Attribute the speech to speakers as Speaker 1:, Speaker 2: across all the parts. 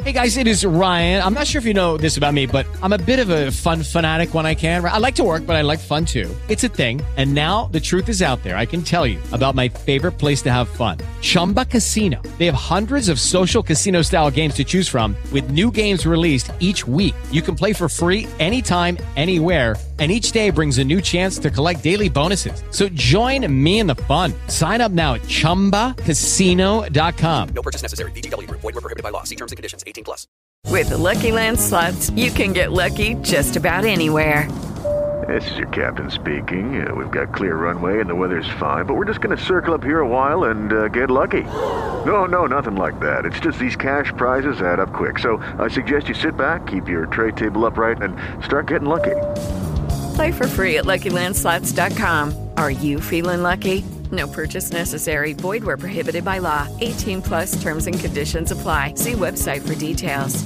Speaker 1: Hey guys, it is Ryan. I'm not sure if you know this about me, but I'm a bit of a fun fanatic when I can. I like to work, but I like fun too. It's a thing. And now the truth is out there. I can tell you about my favorite place to have fun. Chumba Casino. They have hundreds of social casino style games to choose from with new games released each week. You can play for free anytime, anywhere. And each day brings a new chance to collect daily bonuses. So join me in the fun. Sign up now at ChumbaCasino.com.
Speaker 2: No purchase necessary. VGW Group. Void where prohibited by law. See terms and conditions. 18+.
Speaker 3: With the Lucky Land Slots, you can get lucky just about anywhere.
Speaker 4: This is your captain speaking. We've got clear runway and the weather's fine, but we're just going to circle up here a while and get lucky. No, nothing like that. It's just these cash prizes add up quick. So I suggest you sit back, keep your tray table upright, and start getting lucky.
Speaker 3: Play for free at LuckyLandSlots.com. Are you feeling lucky? No purchase necessary. Void where prohibited by law. 18+ terms and conditions apply. See website for details.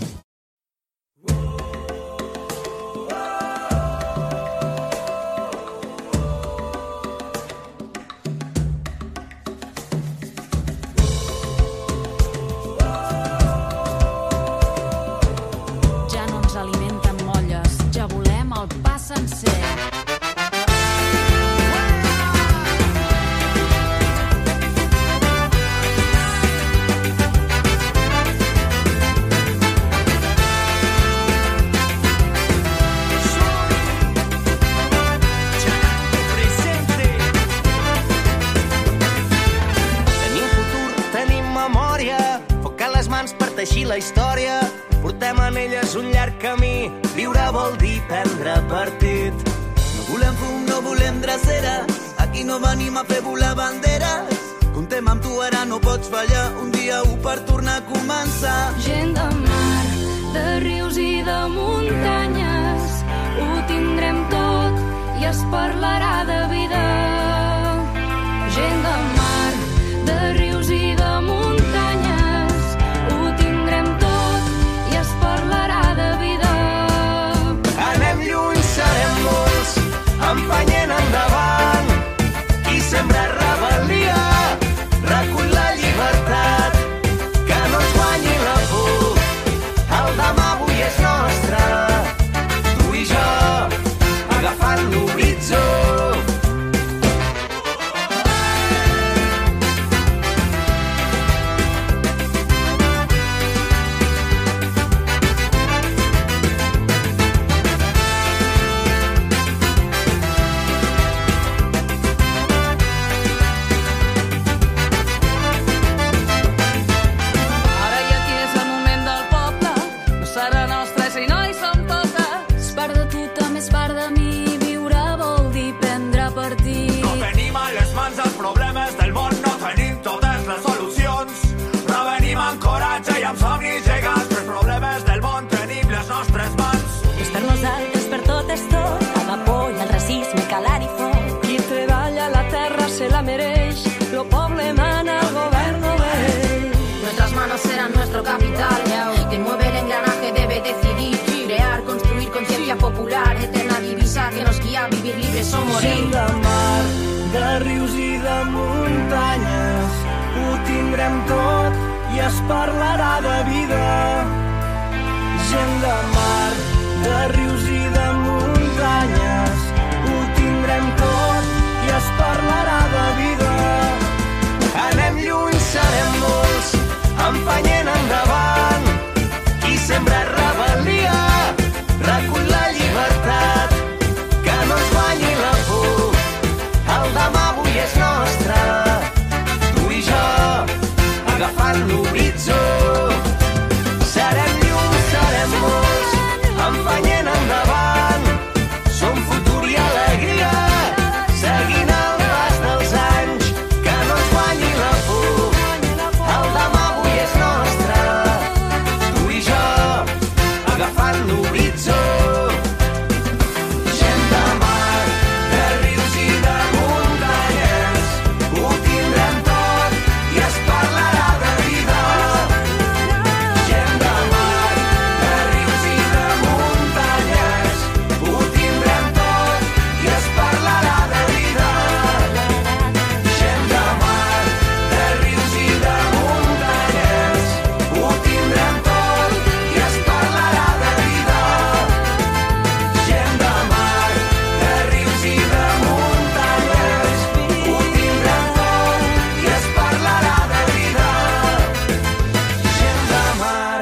Speaker 5: Ja no ens alimenten molles, ja volem el pa sencer.
Speaker 6: Teixir la història, portem en elles un llarg camí. Viure vol dir prendre partit.
Speaker 7: No volem fum, no volem dreceres, aquí no venim a fer volar banderes. Comptem amb tu, ara no pots fallar, un dia per tornar a començar.
Speaker 5: Gent de mar, de rius i de muntanyes, ho tindrem tot i es parlarà de vida. Gent de mar, de rius i de muntanyes, ho tindrem tot i es parlarà de vida.
Speaker 6: Anem lluny, serem molts, empenyent endavant. Qui sembra rebel·lia, recull la llibertat. Que no ens guanyi la por, el demà avui és nostre. Tu i jo, agafant l'horitzó.
Speaker 8: Capital, quien mueve el engranaje debe decidir, crear, construir conciencia popular, eterna divisa que nos guía a vivir libres o morir.
Speaker 6: Gent de mar, de rius i de muntanyes, ho tindrem tot i es parlarà de vida. Gent de mar, de rius i de muntanyes, ho tindrem tot i es parlarà de vida. Anem lluny, serem molts, empenyent endavant. Qui sembra rebel·lia, recull la llibertat. Que no ens guanyi la por, el demà avui és nostre. Tu i jo, agafant l'horitzó.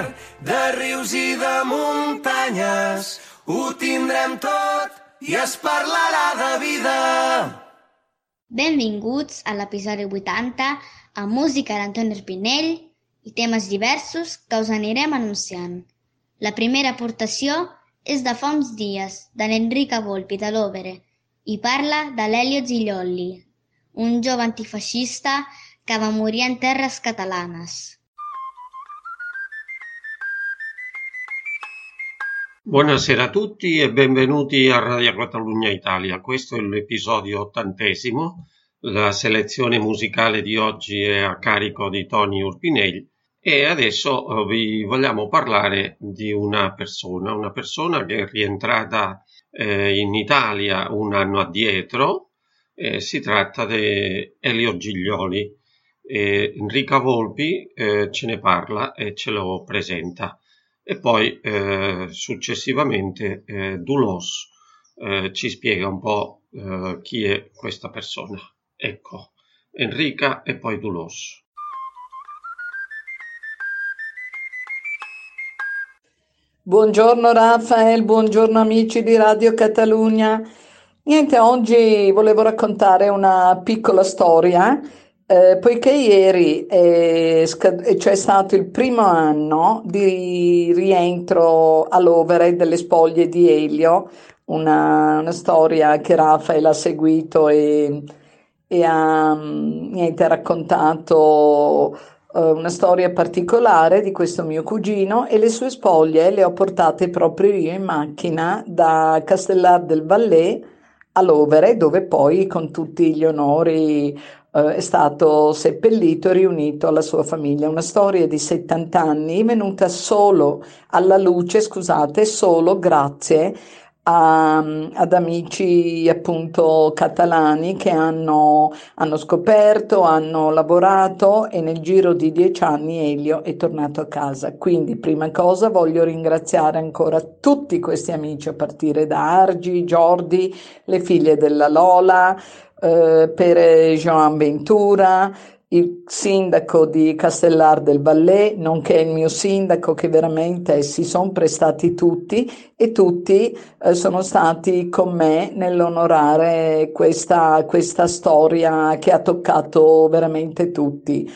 Speaker 6: mar, de rius i de muntanyes, ho tindrem tot i es parlarà de vida.
Speaker 9: Benvinguts a l'episodi 80 amb música d'Antoni Urpinell i temes diversos que us anirem anunciant. La primera aportació és de fa uns dies, de l'Enrica Volpi de l'Overe, i parla de l'Elio Giglioli, un jove antifeixista que va morir en terres catalanes.
Speaker 10: Buonasera a tutti e benvenuti a Radio Catalunya Italia. Questo è l'episodio 80. La selezione musicale di oggi è a carico di Tony Urpinell e adesso vi vogliamo parlare di una persona che è rientrata in Italia un anno addietro. Si tratta di Elio Giglioli. Enrica Volpi ce ne parla e ce lo presenta. E poi successivamente Dulos ci spiega un po' chi è questa persona. Ecco, Enrica e poi Dulos.
Speaker 11: Buongiorno Rafael, buongiorno amici di Radio Catalunya. Niente, oggi volevo raccontare una piccola storia. Poiché ieri c'è stato il primo anno di rientro all'Overe delle spoglie di Elio, una storia che Rafael ha seguito e ha raccontato una storia particolare di questo mio cugino, e le sue spoglie le ho portate proprio io in macchina da Castellar del Valais all'Overe, dove poi con tutti gli onori è stato seppellito e riunito alla sua famiglia. Una storia di 70 anni venuta solo alla luce, solo grazie ad amici appunto catalani che hanno scoperto, hanno lavorato, e nel giro di 10 anni Elio è tornato a casa. Quindi prima cosa voglio ringraziare ancora tutti questi amici, a partire da Argi, Jordi, le figlie della Lola, per Joan Ventura, il sindaco di Castellar del Valais, nonché il mio sindaco, che veramente si sono prestati tutti, e tutti sono stati con me nell'onorare questa storia che ha toccato veramente tutti.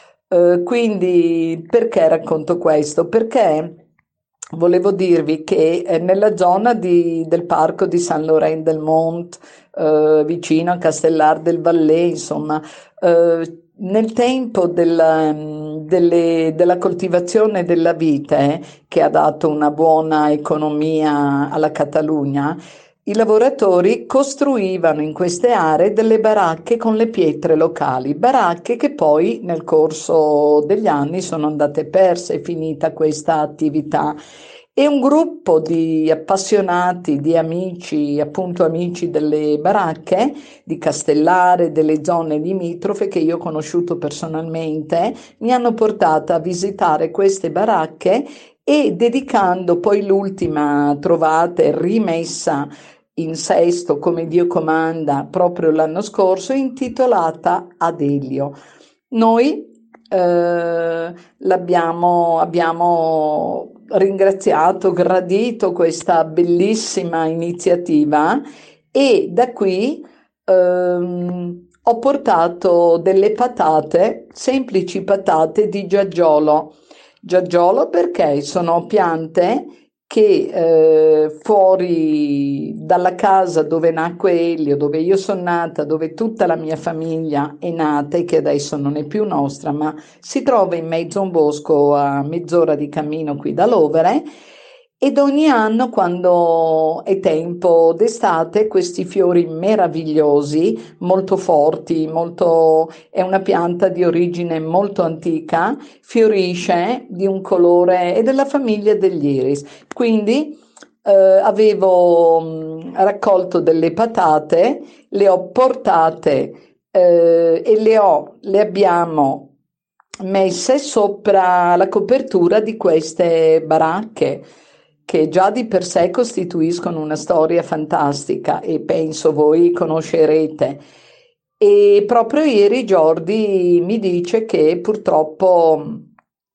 Speaker 11: Quindi perché racconto questo? Perché volevo dirvi che nella zona del parco di Saint-Laurent-del-Mont, vicino a Castellar del Valais, insomma, nel tempo della coltivazione della vite, che ha dato una buona economia alla Catalogna, i lavoratori costruivano in queste aree delle baracche con le pietre locali, baracche che poi nel corso degli anni sono andate perse, è finita questa attività. E un gruppo di appassionati, di amici, appunto amici delle baracche di Castellare, delle zone limitrofe, che io ho conosciuto personalmente, mi hanno portata a visitare queste baracche, e dedicando poi l'ultima trovata e rimessa in sesto come Dio comanda proprio l'anno scorso, intitolata ad Elio. Noi abbiamo ringraziato, gradito questa bellissima iniziativa, e da qui ho portato delle patate, semplici patate di Giaggiolo. Giaggiolo perché sono piante che fuori dalla casa dove nacque Elio, dove io sono nata, dove tutta la mia famiglia è nata e che adesso non è più nostra, ma si trova in mezzo a un bosco a mezz'ora di cammino qui dall'Overe, ed ogni anno, quando è tempo d'estate, questi fiori meravigliosi, molto forti, è una pianta di origine molto antica, fiorisce di un colore, è della famiglia degli iris. Quindi avevo raccolto delle patate, le ho portate e le abbiamo messe sopra la copertura di queste baracche, che già di per sé costituiscono una storia fantastica, e penso voi conoscerete. E proprio ieri Jordi mi dice che purtroppo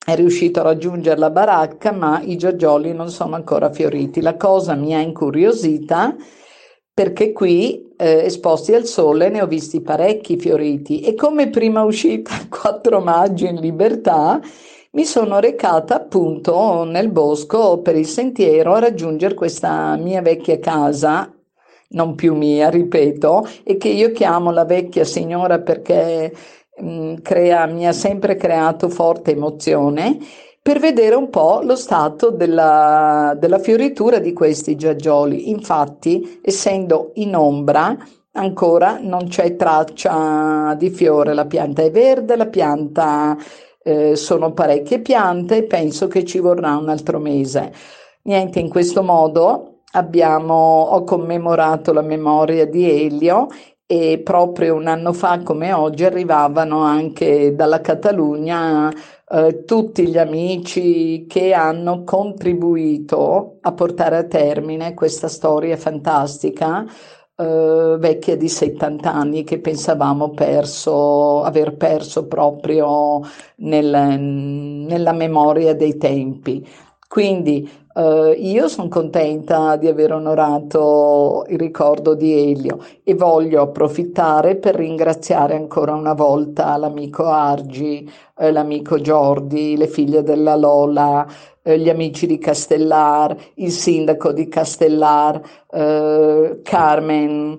Speaker 11: è riuscito a raggiungere la baracca, ma i giaggioli non sono ancora fioriti. La cosa mi ha incuriosita perché qui, esposti al sole, ne ho visti parecchi fioriti e come prima uscita il 4 maggio in libertà, mi sono recata appunto nel bosco per il sentiero a raggiungere questa mia vecchia casa, non più mia, ripeto, e che io chiamo la vecchia signora perché mi ha sempre creato forte emozione, per vedere un po' lo stato della fioritura di questi giaggioli. Infatti, essendo in ombra, ancora non c'è traccia di fiore, la pianta è verde, la pianta sono parecchie piante e penso che ci vorrà un altro mese. Niente, in questo modo ho commemorato la memoria di Elio e proprio un anno fa come oggi arrivavano anche dalla Catalogna tutti gli amici che hanno contribuito a portare a termine questa storia fantastica, vecchia di 70 anni, che pensavamo aver perso proprio nella memoria dei tempi. Quindi io sono contenta di aver onorato il ricordo di Elio e voglio approfittare per ringraziare ancora una volta l'amico Argi, l'amico Giordi, le figlie della Lola, gli amici di Castellar, il sindaco di Castellar, Carmen,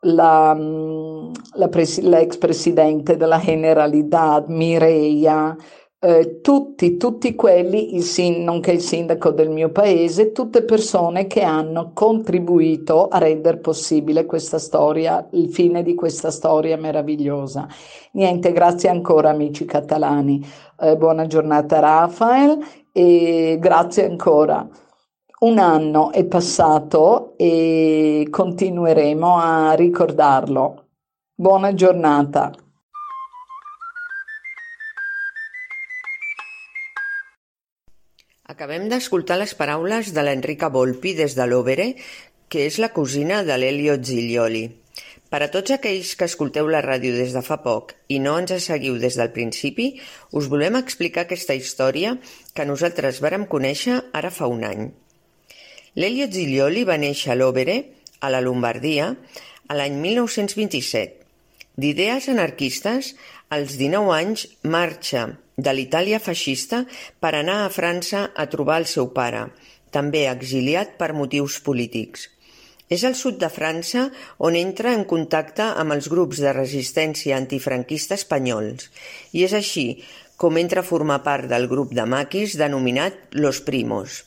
Speaker 11: l'ex presidente della Generalidad, Mireia, tutti quelli, nonché il sindaco del mio paese, tutte persone che hanno contribuito a rendere possibile questa storia, il fine di questa storia meravigliosa. Niente, grazie ancora amici catalani, buona giornata Rafael e grazie ancora. Un anno è passato e continueremo a ricordarlo. Buona giornata.
Speaker 12: Acabem d'escoltar les paraules de l'Enrica Volpi des de l'Overe, que és la cosina de l'Elio Giglioli. Per a tots aquells que escolteu la ràdio des de fa poc i no ens seguiu des del principi, us volem explicar aquesta història que nosaltres vàrem conèixer ara fa un any. L'Elio Giglioli va néixer a l'Overe, a la Lombardia, a l'any 1927. D'idees anarquistes, als 19 anys marxa de l'Itàlia feixista per anar a França a trobar el seu pare, també exiliat per motius polítics. És al sud de França on entra en contacte amb els grups de resistència antifranquista espanyols i és així com entra a formar part del grup de maquis denominat Los Primos.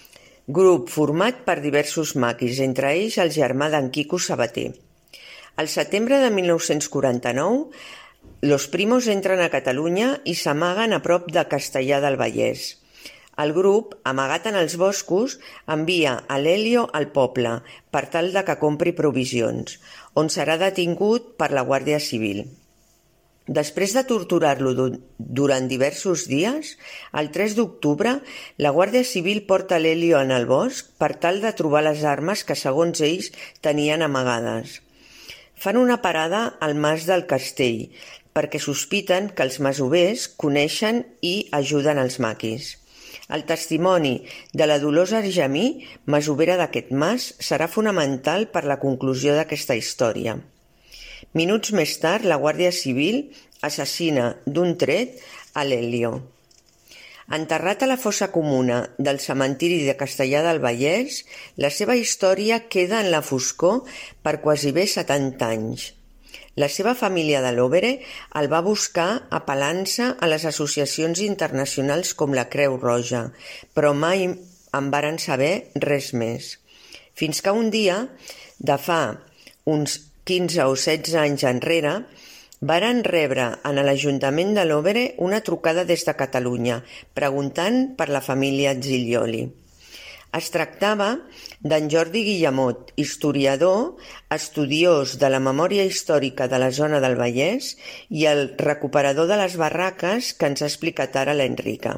Speaker 12: Grup format per diversos maquis, entre ells el germà d'en Quico Sabater. Al setembre de 1949, Los Primos entren a Catalunya i s'amaguen a prop de Castellar del Vallès. El grup, amagat en els boscos, envia a l'Elio al poble per tal de que compri provisions, on serà detingut per la Guàrdia Civil. Després de torturar-lo durant diversos dies, el 3 d'octubre, la Guàrdia Civil porta l'Elio en el bosc per tal de trobar les armes que, segons ells, tenien amagades. Fan una parada al Mas del Castell, perquè sospiten que els masovers coneixen i ajuden els maquis. El testimoni de la Dolors Argemí, masovera d'aquest mas, serà fonamental per la conclusió d'aquesta història. Minuts més tard, la Guàrdia Civil assassina d'un tret a l'Elio. Enterrat a la fossa comuna del cementiri de Castellar del Vallès, la seva història queda en la foscor per quasi bé 70 anys. La seva família de l'Overe el va buscar apel·lant-se a les associacions internacionals com la Creu Roja, però mai en varen saber res més. Fins que un dia, de fa uns 15 o 16 anys enrere, varen rebre en l'Ajuntament de l'Overe una trucada des de Catalunya, preguntant per la família Giglioli. Es tractava d'en Jordi Guillemot, historiador, estudiós de la memòria històrica de la zona del Vallès i el recuperador de les barraques que ens ha explicat ara l'Enrica.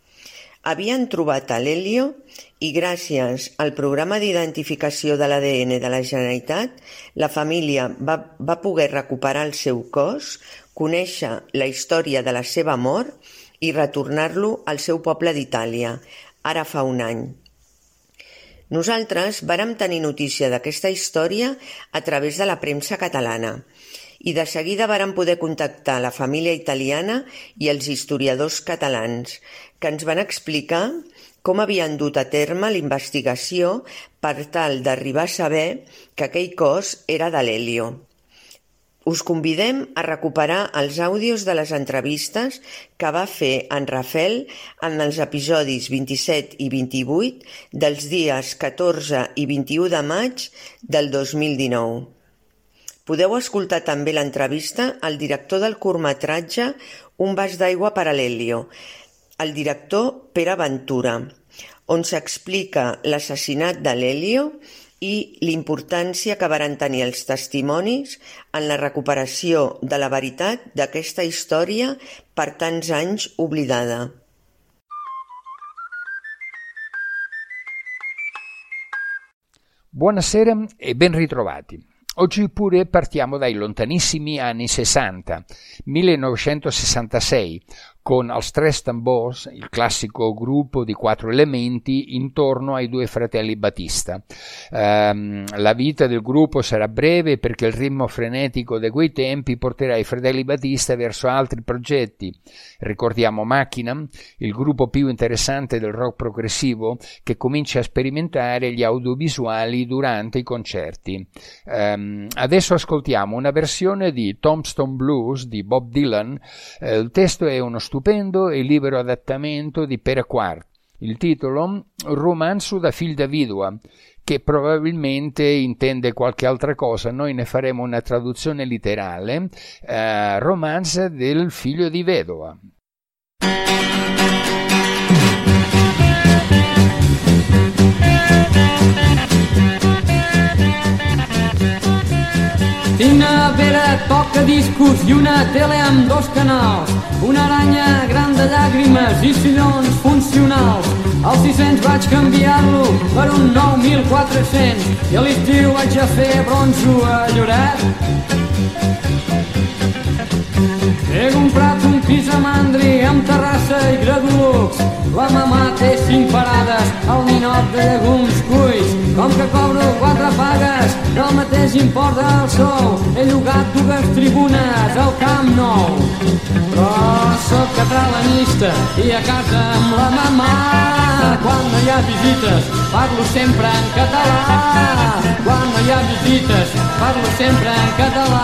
Speaker 12: Havien trobat a l'Elio i gràcies al programa d'identificació de l'ADN de la Generalitat, la família va poder recuperar el seu cos, conèixer la història de la seva mort i retornar-lo al seu poble d'Itàlia, ara fa un any. Nosaltres vàrem tenir notícia d'aquesta història a través de la premsa catalana i de seguida vàrem poder contactar la família italiana i els historiadors catalans, que ens van explicar com havien dut a terme la investigació per tal d'arribar a saber que aquell cos era de l'Elio. Us convidem a recuperar els àudios de les entrevistes que va fer en Rafel en els episodis 27 i 28 dels dies 14 i 21 de maig del 2019. Podeu escoltar també l'entrevista al director del curtmetratge Un vas d'aigua per a l'Elio, el director Pere Ventura, on s'explica l'assassinat de l'Elio i l'importància que varen tenir els testimonis en la recuperació de la veritat d'aquesta història per tants anys oblidada.
Speaker 13: Buonasera e ben ritrovati. Oggi pure partiamo dai lontanissimi anni 60, 1966, con als Tres Tambors, il classico gruppo di 4 elementi intorno ai 2 fratelli Battista. La vita del gruppo sarà breve perché il ritmo frenetico di quei tempi porterà i fratelli Battista verso altri progetti. Ricordiamo Macchina, il gruppo più interessante del rock progressivo che comincia a sperimentare gli audiovisuali durante i concerti. Adesso ascoltiamo una versione di Tombstone Blues di Bob Dylan. Il testo è uno stupendo e libero adattamento di Pere Quart. Il titolo Romanzo da figlio da vidua, che probabilmente intende qualche altra cosa. Noi ne faremo una traduzione letterale, romanzo del figlio di vedova.
Speaker 14: Tinc nevera, toca discos i una tele amb 2 canals, una aranya gran de llàgrimes i sillons funcionals. Al 600 vaig canviar-lo per un 9400 i a l'estiu vaig a fer bronzo a Lloret. He comprat un pis a Mandri amb terrassa i gradulux. La mamà té 5 parades al ninot de llegums cuits. Com que cobro 4 pagues del mateix import del sou, he llogat 2 tribunes al Camp Nou. Però sóc catalanista i a casa amb la mamà, quan no hi ha visites parlo sempre en català. Quan no hi ha visites parlo sempre en català.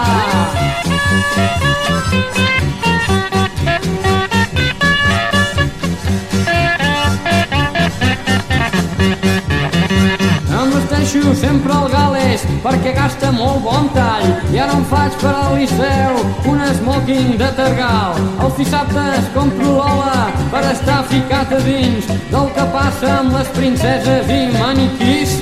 Speaker 14: Em vesteixo sempre al Gales perquè gasta molt bon tall i ara em faig per al Liceu un smoking de tergal. Els dissabtes compro l'ola per estar ficat a dins del que passa amb les princeses i maniquís.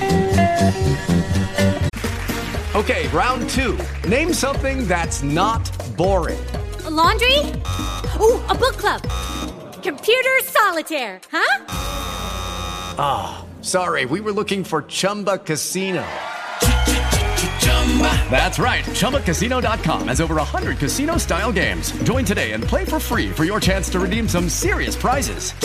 Speaker 15: Okay, round 2. Name something that's not boring.
Speaker 16: A laundry? Ooh, a book club. Computer solitaire, huh?
Speaker 15: Ah, sorry, we were looking for Chumba Casino. That's right, ChumbaCasino.com has over 100 casino-style games. Join today and play for free for your chance to redeem some serious prizes.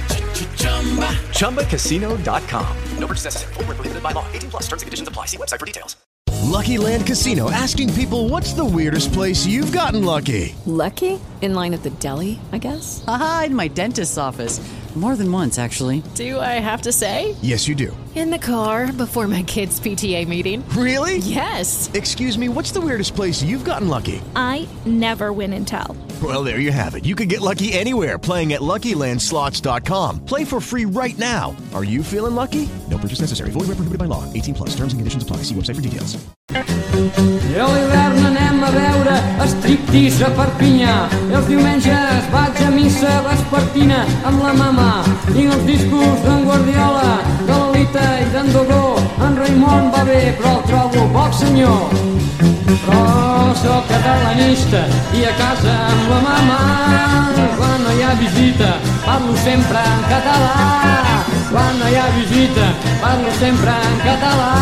Speaker 15: ChumbaCasino.com.
Speaker 2: No purchase necessary. Void where prohibited by law. 18 plus. Terms and conditions apply. See website for details.
Speaker 17: Lucky Land Casino, asking people, what's the weirdest place you've gotten lucky?
Speaker 18: Lucky? In line at the deli, I guess?
Speaker 19: Aha, in my dentist's office. More than once, actually.
Speaker 18: Do I have to say?
Speaker 17: Yes, you do.
Speaker 18: In the car before my kids' PTA meeting.
Speaker 17: Really?
Speaker 18: Yes.
Speaker 17: Excuse me, what's the weirdest place you've gotten lucky?
Speaker 20: I never win and tell.
Speaker 17: Well, there you have it. You can get lucky anywhere, playing at LuckyLandSlots.com. Play for free right now. Are you feeling lucky? No purchase necessary. Void where prohibited by law. 18 plus. Terms and conditions apply. See website for details.
Speaker 14: I a l'hivern anem a veure striptease a Perpinyà. I els diumenges vaig a missa vespertina amb la mama. Tinc els discos d'en Guardiola, de l'Olita i d'en Dogó. En Raimon va bé, però el trobo poc senyor. Però sóc catalanista i a casa amb la mama. Quan no hi ha visita parlo sempre en català. Quan no hi ha visita parlo sempre en català.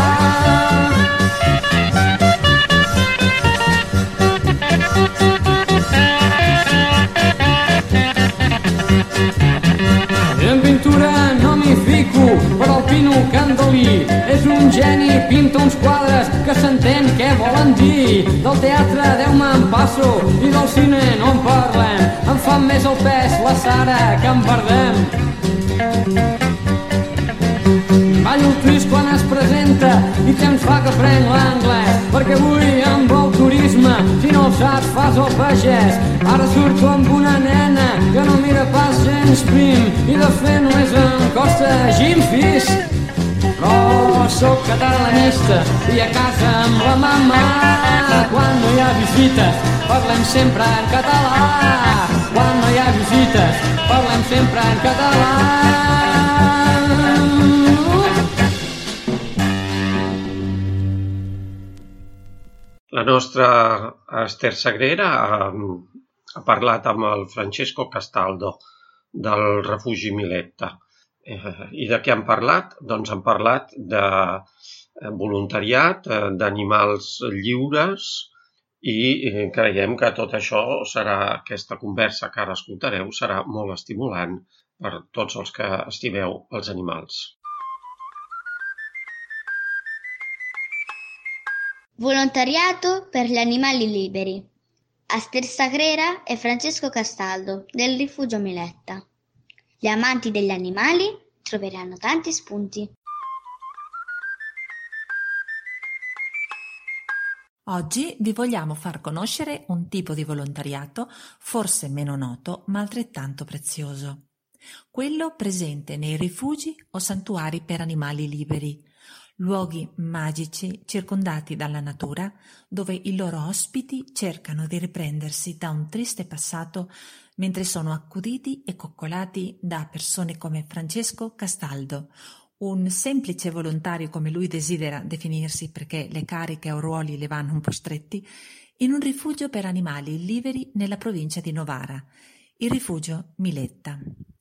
Speaker 14: Pino Candolí és un geni, pinta uns quadres que s'entén què volen dir. Del teatre Déu me'n passo i del cine no en parlem. Em fa més el pes la Sara que en perdem. Ballo el twist quan es presenta i temps fa que prenc l'anglès, perquè avui amb el turisme, si no el saps fas el pagès. Ara surto amb una nena que no mira pas gens prim i de fet només em costa Jim Fis. Però sóc catalanista i a casa amb la mama, quan no hi ha visites parlem sempre en català. Quan no hi ha visites parlem sempre en català.
Speaker 10: La nostra Ester Sagrera ha parlat amb el Francesco Castaldo del refugi Miletta. I de què han parlat? Doncs han parlat de voluntariat, d'animals lliures i creiem que tot això serà, aquesta conversa que ara escoltareu, serà molt estimulant per tots els que estimeu els animals.
Speaker 9: Volontariato per gli animali liberi. Ester Sagrera e Francesco Castaldo del Rifugio Miletta. Gli amanti degli animali troveranno tanti spunti.
Speaker 21: Oggi vi vogliamo far conoscere un tipo di volontariato forse meno noto ma altrettanto prezioso. Quello presente nei rifugi o santuari per animali liberi. Luoghi magici circondati dalla natura dove i loro ospiti cercano di riprendersi da un triste passato mentre sono accuditi e coccolati da persone come Francesco Castaldo, un semplice volontario come lui desidera definirsi perché le cariche o ruoli le vanno un po' stretti, in un rifugio per animali liberi nella provincia di Novara, il rifugio Miletta.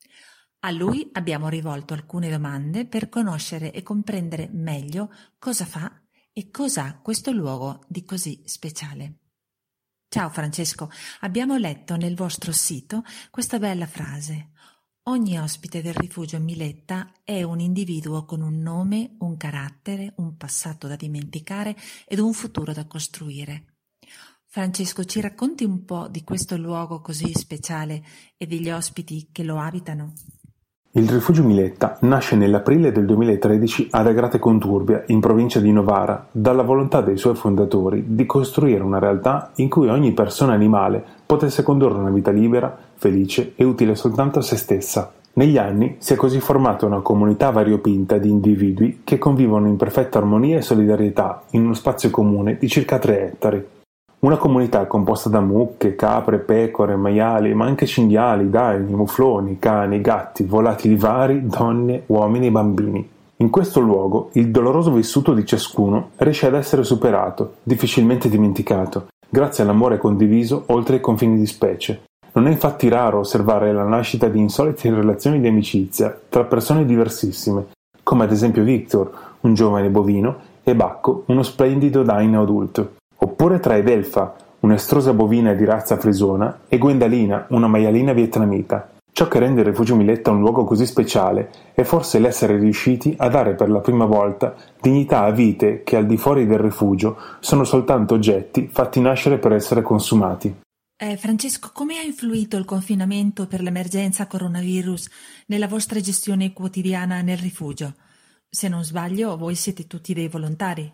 Speaker 21: A lui abbiamo rivolto alcune domande per conoscere e comprendere meglio cosa fa e cos'ha questo luogo di così speciale. Ciao Francesco, abbiamo letto nel vostro sito questa bella frase. Ogni ospite del rifugio Miletta è un individuo con un nome, un carattere, un passato da dimenticare ed un futuro da costruire. Francesco, ci racconti un po' di questo luogo così speciale e degli ospiti che lo abitano?
Speaker 22: Il rifugio Miletta nasce nell'aprile del 2013 ad Agrate Conturbia, in provincia di Novara, dalla volontà dei suoi fondatori di costruire una realtà in cui ogni persona animale potesse condurre una vita libera, felice e utile soltanto a se stessa. Negli anni si è così formata una comunità variopinta di individui che convivono in perfetta armonia e solidarietà in uno spazio comune di circa 3 ettari. Una comunità composta da mucche, capre, pecore, maiali, ma anche cinghiali, daini, mufloni, cani, gatti, volatili vari, donne, uomini e bambini. In questo luogo il doloroso vissuto di ciascuno riesce ad essere superato, difficilmente dimenticato, grazie all'amore condiviso oltre i confini di specie. Non è infatti raro osservare la nascita di insolite relazioni di amicizia tra persone diversissime, come ad esempio Victor, un giovane bovino, e Bacco, uno splendido daino adulto. Oppure tra Edelfa, un'estrosa bovina di razza frisona, e Gwendalina, una maialina vietnamita. Ciò che rende il rifugio Miletta un luogo così speciale è forse l'essere riusciti a dare per la prima volta dignità a vite che al di fuori del rifugio sono soltanto oggetti fatti nascere per essere consumati.
Speaker 21: Francesco, come ha influito il confinamento per l'emergenza coronavirus nella vostra gestione quotidiana nel rifugio? Se non sbaglio, voi siete tutti dei volontari.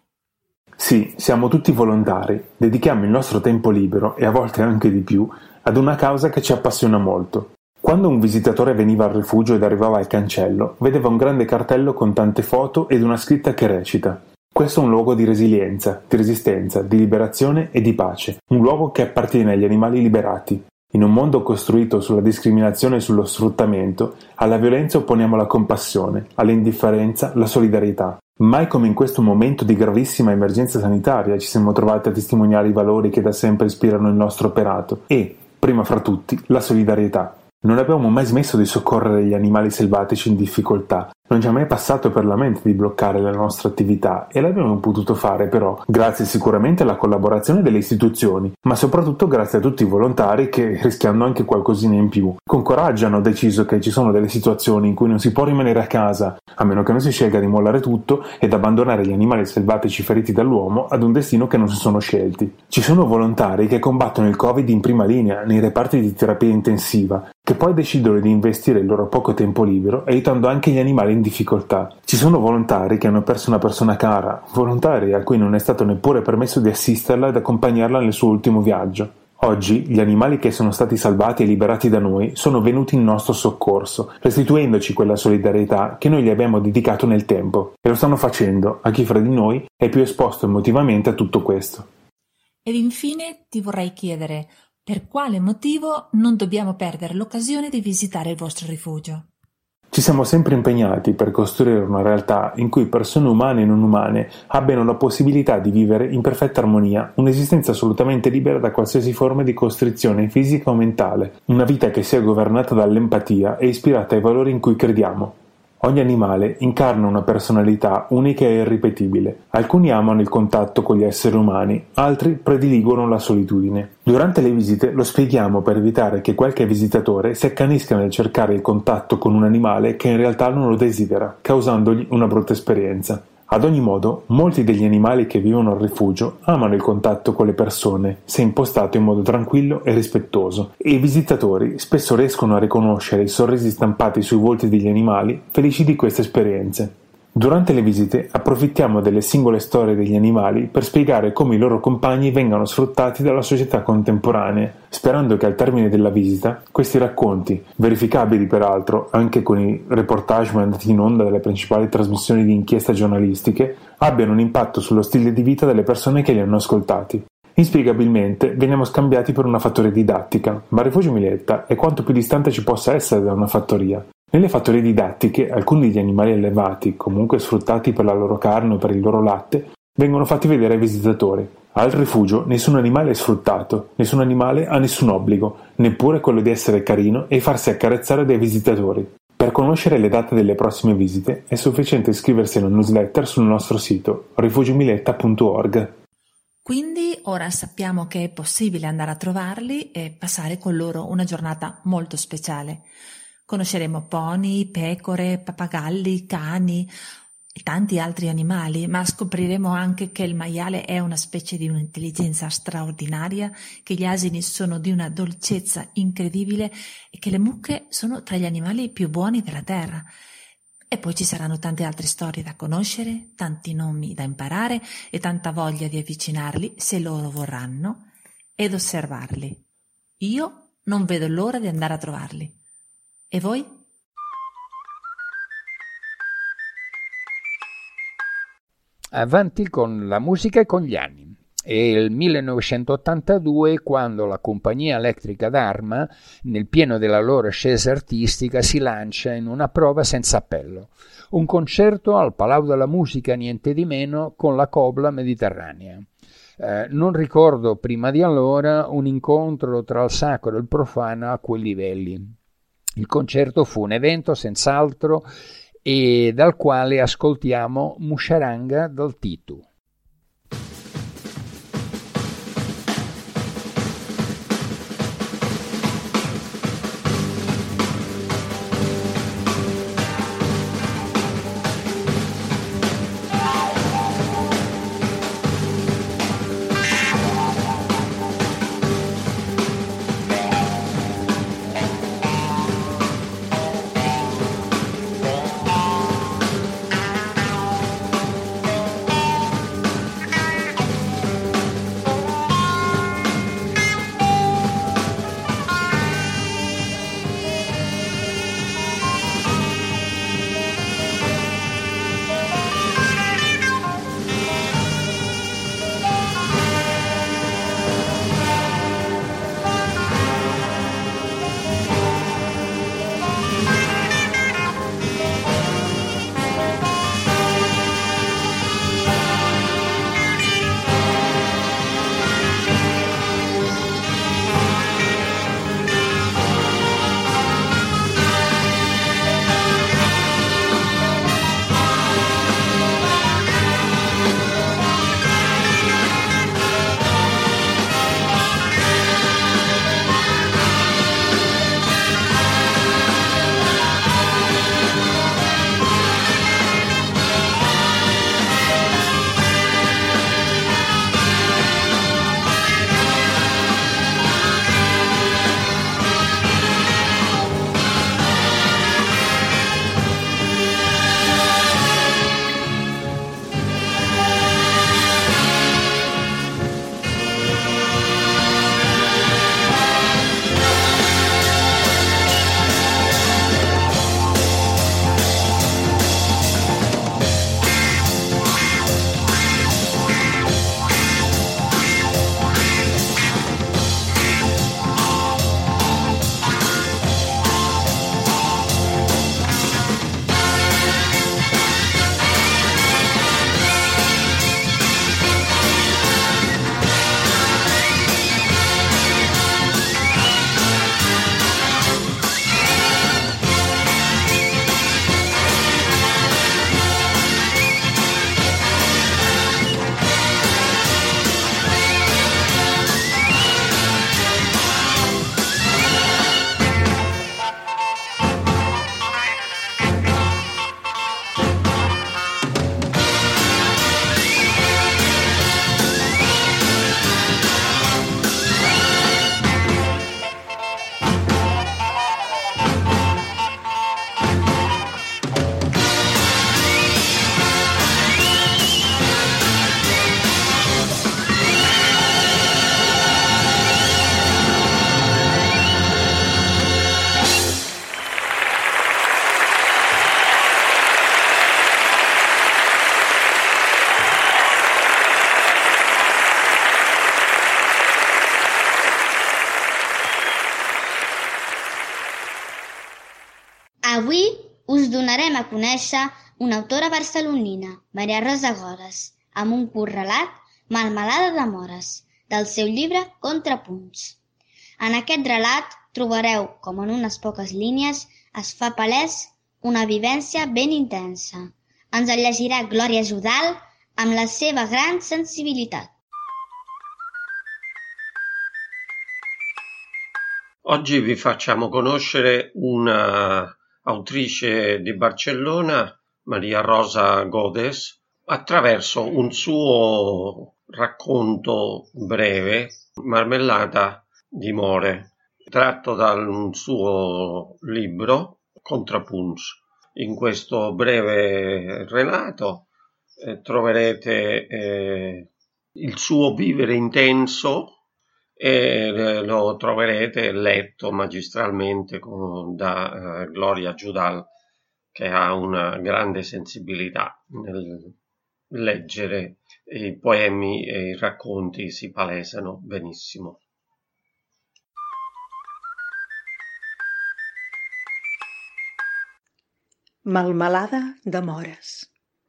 Speaker 22: Sì, siamo tutti volontari, dedichiamo il nostro tempo libero, e a volte anche di più, ad una causa che ci appassiona molto. Quando un visitatore veniva al rifugio ed arrivava al cancello, vedeva un grande cartello con tante foto ed una scritta che recita: questo è un luogo di resilienza, di resistenza, di liberazione e di pace, un luogo che appartiene agli animali liberati. In un mondo costruito sulla discriminazione e sullo sfruttamento, alla violenza opponiamo la compassione, all'indifferenza la solidarietà. Mai come in questo momento di gravissima emergenza sanitaria ci siamo trovati a testimoniare i valori che da sempre ispirano il nostro operato e, prima fra tutti, la solidarietà. Non abbiamo mai smesso di soccorrere gli animali selvatici in difficoltà, Non ci è mai passato per la mente di bloccare la nostra attività e l'abbiamo potuto fare però grazie sicuramente alla collaborazione delle istituzioni, ma soprattutto grazie a tutti i volontari che, rischiando anche qualcosina in più, con coraggio hanno deciso che ci sono delle situazioni in cui non si può rimanere a casa, a meno che non si scelga di mollare tutto ed abbandonare gli animali selvatici feriti dall'uomo ad un destino che non si sono scelti. Ci sono volontari che combattono il Covid in prima linea nei reparti di terapia intensiva, che poi decidono di investire il loro poco tempo libero aiutando anche gli animali in difficoltà. Ci sono volontari che hanno perso una persona cara, volontari a cui non è stato neppure permesso di assisterla ed accompagnarla nel suo ultimo viaggio. Oggi gli animali che sono stati salvati e liberati da noi sono venuti in nostro soccorso, restituendoci quella solidarietà che noi gli abbiamo dedicato nel tempo, e lo stanno facendo a chi fra di noi è più esposto emotivamente a tutto questo.
Speaker 21: Ed infine ti vorrei chiedere: per quale motivo non dobbiamo perdere l'occasione di visitare il vostro rifugio?
Speaker 22: Ci siamo sempre impegnati per costruire una realtà in cui persone umane e non umane abbiano la possibilità di vivere in perfetta armonia, un'esistenza assolutamente libera da qualsiasi forma di costrizione fisica o mentale, una vita che sia governata dall'empatia e ispirata ai valori in cui crediamo. Ogni animale incarna una personalità unica e irripetibile. Alcuni amano il contatto con gli esseri umani, altri prediligono la solitudine. Durante le visite lo spieghiamo per evitare che qualche visitatore si accanisca nel cercare il contatto con un animale che in realtà non lo desidera, causandogli una brutta esperienza. Ad ogni modo, molti degli animali che vivono al rifugio amano il contatto con le persone, se impostato in modo tranquillo e rispettoso, e i visitatori spesso riescono a riconoscere i sorrisi stampati sui volti degli animali felici di queste esperienze. Durante le visite approfittiamo delle singole storie degli animali per spiegare come i loro compagni vengano sfruttati dalla società contemporanea, sperando che al termine della visita questi racconti, verificabili peraltro anche con i reportage mandati in onda dalle principali trasmissioni di inchiesta giornalistiche, abbiano un impatto sullo stile di vita delle persone che li hanno ascoltati. Inspiegabilmente veniamo scambiati per una fattoria didattica, ma il Rifugio Miletta è quanto più distante ci possa essere da una fattoria. Nelle fattorie didattiche, alcuni degli animali allevati, comunque sfruttati per la loro carne o per il loro latte, vengono fatti vedere ai visitatori. Al rifugio nessun animale è sfruttato, nessun animale ha nessun obbligo, neppure quello di essere carino e farsi accarezzare dai visitatori. Per conoscere le date delle prossime visite è sufficiente iscriversi alla newsletter sul nostro sito rifugiomiletta.org.
Speaker 21: Quindi ora sappiamo che è possibile andare a trovarli e passare con loro una giornata molto speciale. Conosceremo pony, pecore, pappagalli, cani e tanti altri animali, ma scopriremo anche che il maiale è una specie di un'intelligenza straordinaria, che gli asini sono di una dolcezza incredibile e che le mucche sono tra gli animali più buoni della terra. E poi ci saranno tante altre storie da conoscere, tanti nomi da imparare e tanta voglia di avvicinarli, se loro vorranno, ed osservarli. Io non vedo l'ora di andare a trovarli. E voi?
Speaker 13: Avanti con la musica e con gli anni. È il 1982 quando la compagnia elettrica d'Arma, nel pieno della loro ascesa artistica, si lancia in una prova senza appello. Un concerto al Palau della Musica, niente di meno, con la Cobla Mediterranea. Non ricordo prima di allora un incontro tra il sacro e il profano a quei livelli. Il concerto fu un evento senz'altro e dal quale ascoltiamo Musharanga dal Titu.
Speaker 9: conèixer una autora barcelonina, Maria Rosa Godes, amb un curt relat, Melmelada de Mores, del seu llibre Contrapunts. En aquest relat trobareu com en unes poques línies es fa palès una vivència ben intensa. Ens el llegirà Glòria Judal amb la seva gran sensibilitat.
Speaker 10: Oggi vi facciamo conoscere una autrice di Barcellona, Maria Rosa Godes, attraverso un suo racconto breve, Marmellata di More, tratto da un suo libro, Contrapunts. In questo breve relato troverete il suo vivere intenso e lo troverete letto magistralmente da Gloria Judal, che ha una grande sensibilità nel leggere i poemi e i racconti, si palesano benissimo.
Speaker 1: Melmelada de Mores.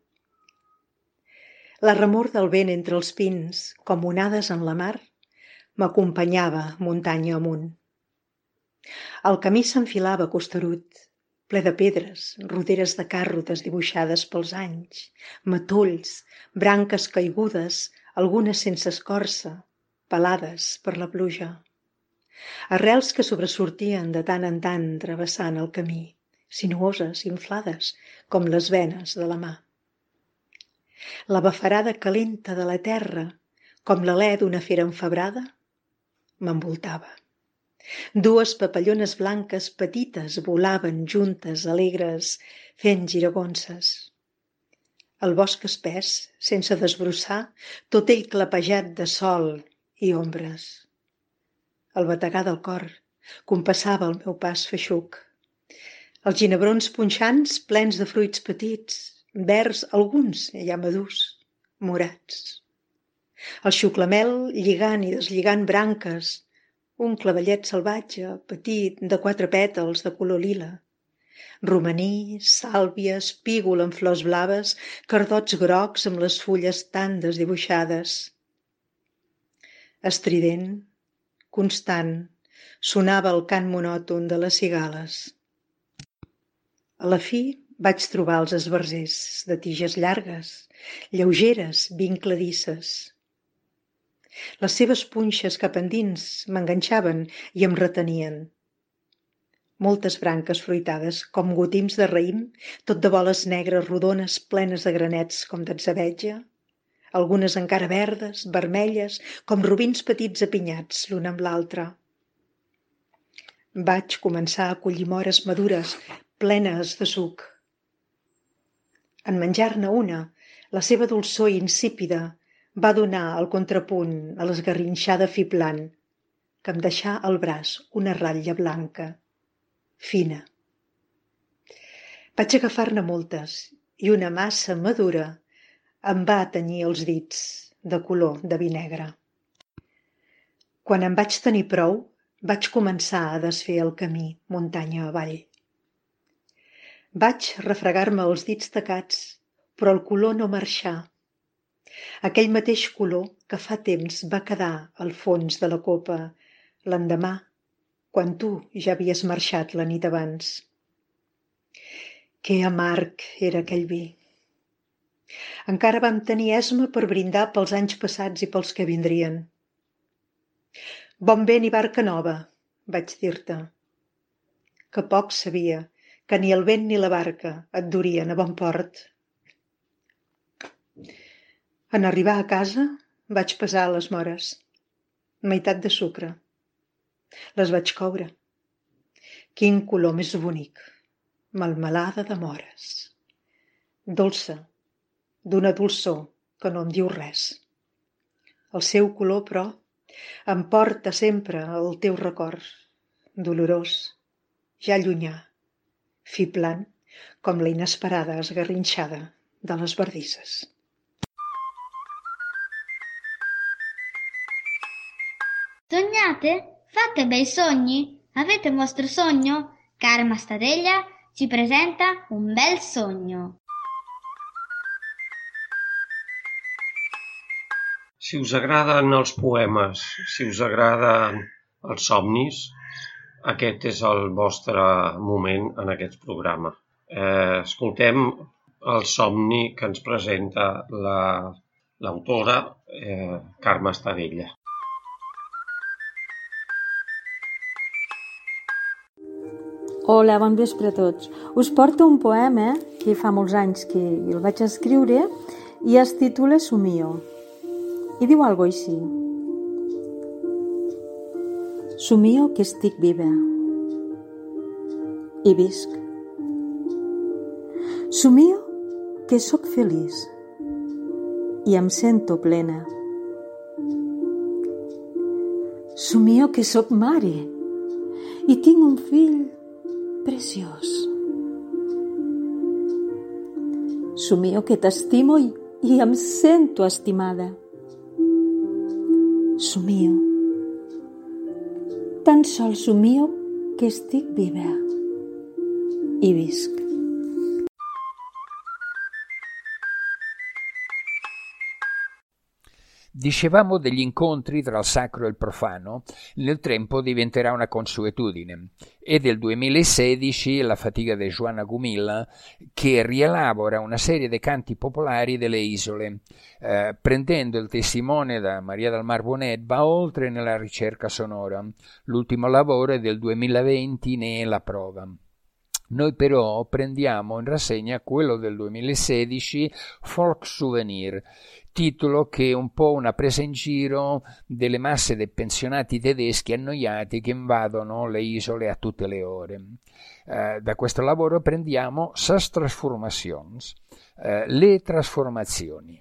Speaker 1: La remor del vent entre els pins, com onades en la mar, m'acompanyava muntanya amunt. El camí s'enfilava costerut, ple de pedres, roderes de carro desdibuixades pels anys, matolls, branques caigudes, algunes sense escorça, pelades per la pluja. Arrels que sobresortien de tant en tant travessant el camí, sinuoses, inflades, com les venes de la mà. La bafarada calenta de la terra, com l'alè d'una fera enfebrada, m'envoltava. Dues papallones blanques petites volaven juntes, alegres, fent giragonses. El bosc espès, sense desbrossar, tot ell clapejat de sol i ombres. El bategar del cor compassava el meu pas feixuc. Els ginebrons punxants plens de fruits petits, verds, alguns ja madurs, morats. El xuclamel lligant i deslligant branques, un clavellet salvatge, petit, de 4 pètals de color lila, romaní, sàlvia, espígol amb flors blaves, cardots grocs amb les fulles tan desdibuixades. Estrident, constant, sonava el cant monòton de les cigales. A la fi vaig trobar els esbarzers de tiges llargues, lleugeres, vincladisses. Les seves punxes cap endins m'enganxaven i em retenien. Moltes branques fruitades, com gotims de raïm, tot de boles negres rodones plenes de granets com d'atzabetja, algunes encara verdes, vermelles, com robins petits apinyats l'un amb l'altre. Vaig començar a collir mores madures, plenes de suc. En menjar-ne una, la seva dolçor insípida va donar el contrapunt a l'esgarrinxada fiblant, que em deixà al braç una ratlla blanca, fina. Vaig agafar-ne moltes i una massa madura em va tenyir els dits de color de vi negre. Quan em vaig tenir prou, vaig començar a desfer el camí muntanya avall. Vaig refregar-me els dits tacats, però el color no marxà. Aquell mateix color que fa temps va quedar al fons de la copa l'endemà, quan tu ja havies marxat la nit abans. Que amarg era aquell vi. Encara vam tenir esma per brindar pels anys passats i pels que vindrien. Bon vent i barca nova, vaig dir-te. Que poc sabia que ni el vent ni la barca et durien a bon port. En arribar a casa vaig pesar les mores, meitat de sucre. Les vaig coure. Quin color més bonic, melmelada de mores. Dolça, d'una dolçor que no em diu res. El seu color, però, em porta sempre el teu record, dolorós, ja llunyà, fiblant com la inesperada esgarrinxada de les bardisses.
Speaker 9: Sognate? Fate bei sogni? Avete un vostro sogno? Cara Mastadella, ci presenta un bel sogno.
Speaker 10: Si us agraden els poemes, si us agraden els somnis, aquest és el vostre moment en aquest programa. Escoltem el somni que ens presenta l'autora Carme Estadella.
Speaker 3: Hola, bon vespre a tots. Us porto un poema que fa molts anys que el vaig escriure i es titula Somio. I diu algo així. Somio que estic viva i visc. Somio que sóc feliç i em sento plena. Somio que sóc mare i tinc un fill preciós. Somio que t'estimo i em sento estimada. Somio. Tan sols somio que estic viva i visc.
Speaker 13: Dicevamo degli incontri tra il sacro e il profano, nel tempo diventerà una consuetudine. È del 2016 La fatica di Joana Gumilla che rielabora una serie di canti popolari delle isole, prendendo il testimone da Maria del Mar Bonet va oltre nella ricerca sonora. L'ultimo lavoro è del 2020, ne è la prova. Noi però prendiamo in rassegna quello del 2016, Folk Souvenir, titolo che è un po' una presa in giro delle masse dei pensionati tedeschi annoiati che invadono le isole a tutte le ore. Da questo lavoro prendiamo Sas Transformations, le trasformazioni.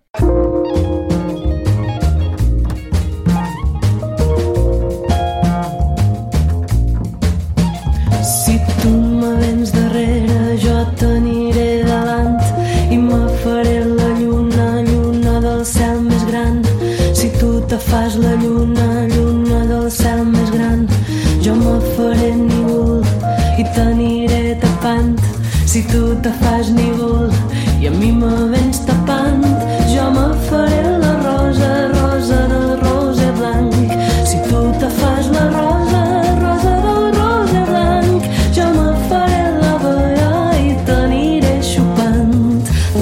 Speaker 6: Si tu me vens darrere, jo t'aniré davant i me faré la lluna, lluna del cel més gran. Si tu te fas la lluna, lluna del cel més gran, jo me faré núvol i t'aniré tapant. Si tu te fas núvol i a mi me vens tapant, jo me faré la rosa, rosa del roser blanc. Si tu te fas la rosa, rosa del roser blanc, jo me faré la vella i t'aniré xupant.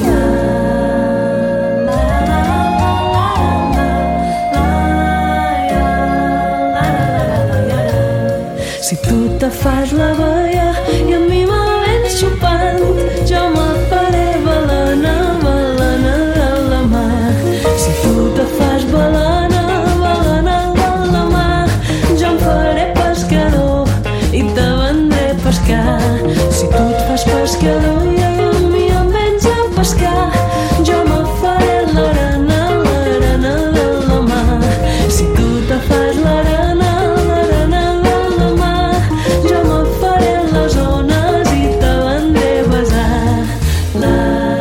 Speaker 6: Si tu te fas la vella i a mi me vens xupant, jo me faré balena, balena de la mar. Si tu te fas balena, balena de la mar, jo em faré pescador i te vendré a pescar. Si tu et fas pescador i a mi em vens a pescar, jo me faré l'arena, l'arena de la mar. Si tu te fas l'arena, l'arena de la mar, jo me faré les ones i te vendré a besar. La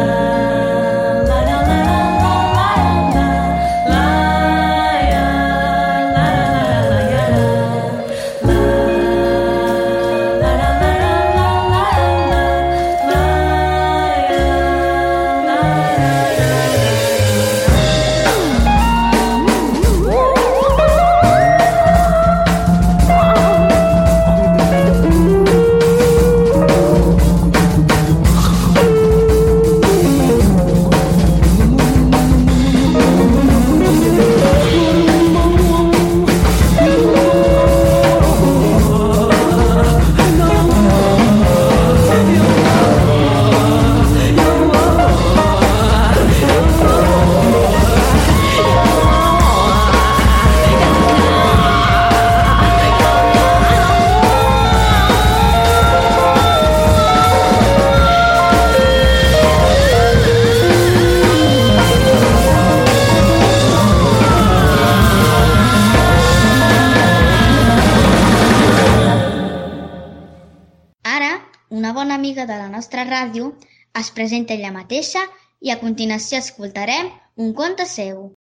Speaker 9: una bona amiga de la nostra ràdio, es presenta ella mateixa i a continuació escoltarem un conte seu.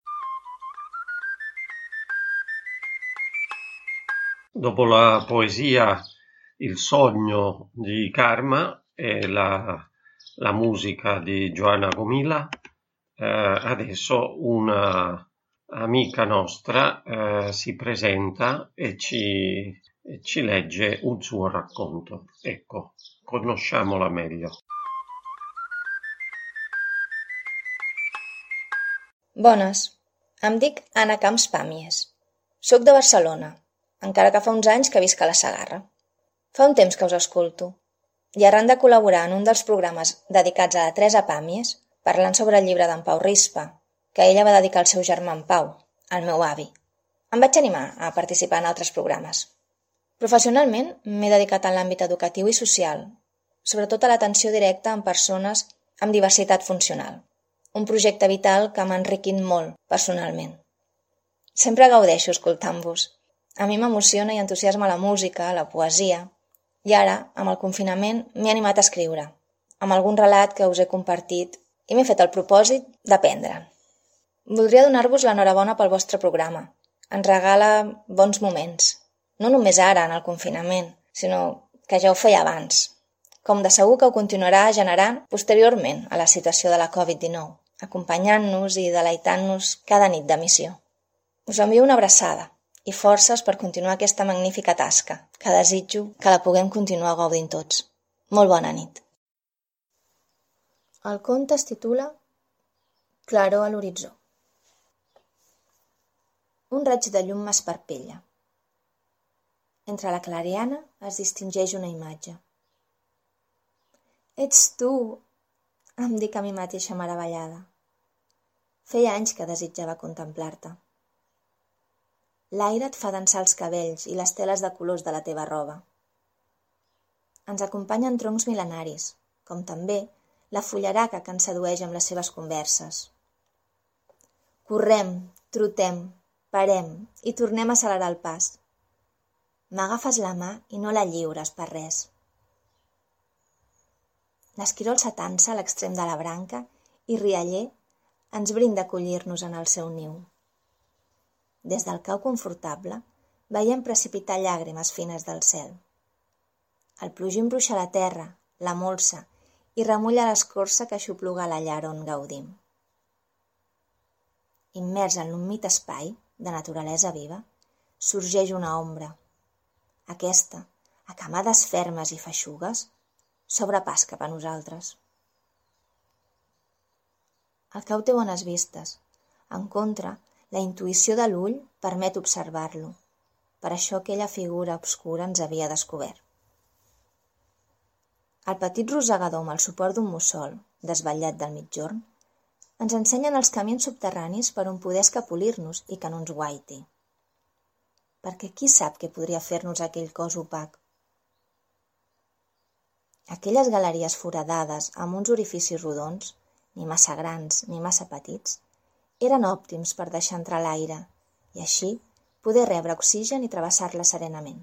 Speaker 10: Dopo la poesia Il sogno di Karma, e la musica di Joanna Gomila. Adesso una amica nostra si presenta e ci legge un suo racconto. Ecco, conosciamola meglio.
Speaker 4: Bones, em dic Anna Camps Pàmies. Soc de Barcelona, encara que fa uns anys que visc a la Segarra. Fa un temps que us escolto, i arran de col·laborar en un dels programes dedicats a la Teresa Pàmies, parlant sobre el llibre d'en Pau Rispa, que ella va dedicar al seu germà en Pau, el meu avi, em vaig animar a participar en altres programes. Professionalment m'he dedicat a l'àmbit educatiu i social, sobretot a l'atenció directa en persones amb diversitat funcional, un projecte vital que m'ha enriquit molt personalment. Sempre gaudeixo escoltant-vos. A mi m'emociona i entusiasma la música, la poesia, i ara, amb el confinament, m'he animat a escriure, amb algun relat que us he compartit i m'he fet el propòsit d'aprendre'n. Voldria donar-vos l'enhorabona pel vostre programa. Ens regala bons moments. No només ara, en el confinament, sinó que ja ho feia abans. Com de segur que ho continuarà generant posteriorment a la situació de la Covid-19, acompanyant-nos i deleitant-nos cada nit d'emissió. Us envio una abraçada i forces per continuar aquesta magnífica tasca, que desitjo que la puguem continuar gaudint tots. Molt bona nit. El conte es titula Claror a l'horitzó. Un raig de llum m'esparpella. Entre la clariana es distingeix una imatge. Ets tu, em dic a mi mateixa meravellada. Feia anys que desitjava contemplar-te. L'aire et fa dansar els cabells i les teles de colors de la teva roba. Ens acompanyen troncs mil·lenaris, com també la fullaraca que ens sedueix amb les seves converses. Correm, trotem, parem i tornem a accelerar el pas. M'agafes la mà i no la lliures per res. L'esquirol s'atansa a l'extrem de la branca i rialler ens brinda acollir-nos en el seu niu. Des del cau confortable veiem precipitar llàgrimes fines del cel. El plogim bruixa la terra, la molsa i remulla l'escorça que aixopluga la llar on gaudim. Immers en l'humit espai de naturalesa viva, sorgeix una ombra. Aquesta, a camades fermes i feixugues, s'obre pas cap a nosaltres. El cau té bones vistes. En contra, la intuïció de l'ull permet observar-lo. Per això aquella figura obscura ens havia descobert. El petit rosegador amb el suport d'un mussol, desvetllat del migjorn, ens ensenyen els camins subterranis per on poder escapolir-nos i que no ens guaiti. Perquè qui sap què podria fer-nos aquell cos opac? Aquelles galeries foradades amb uns orificis rodons, ni massa grans ni massa petits, eren òptims per deixar entrar l'aire i així poder rebre oxigen i travessar-la serenament.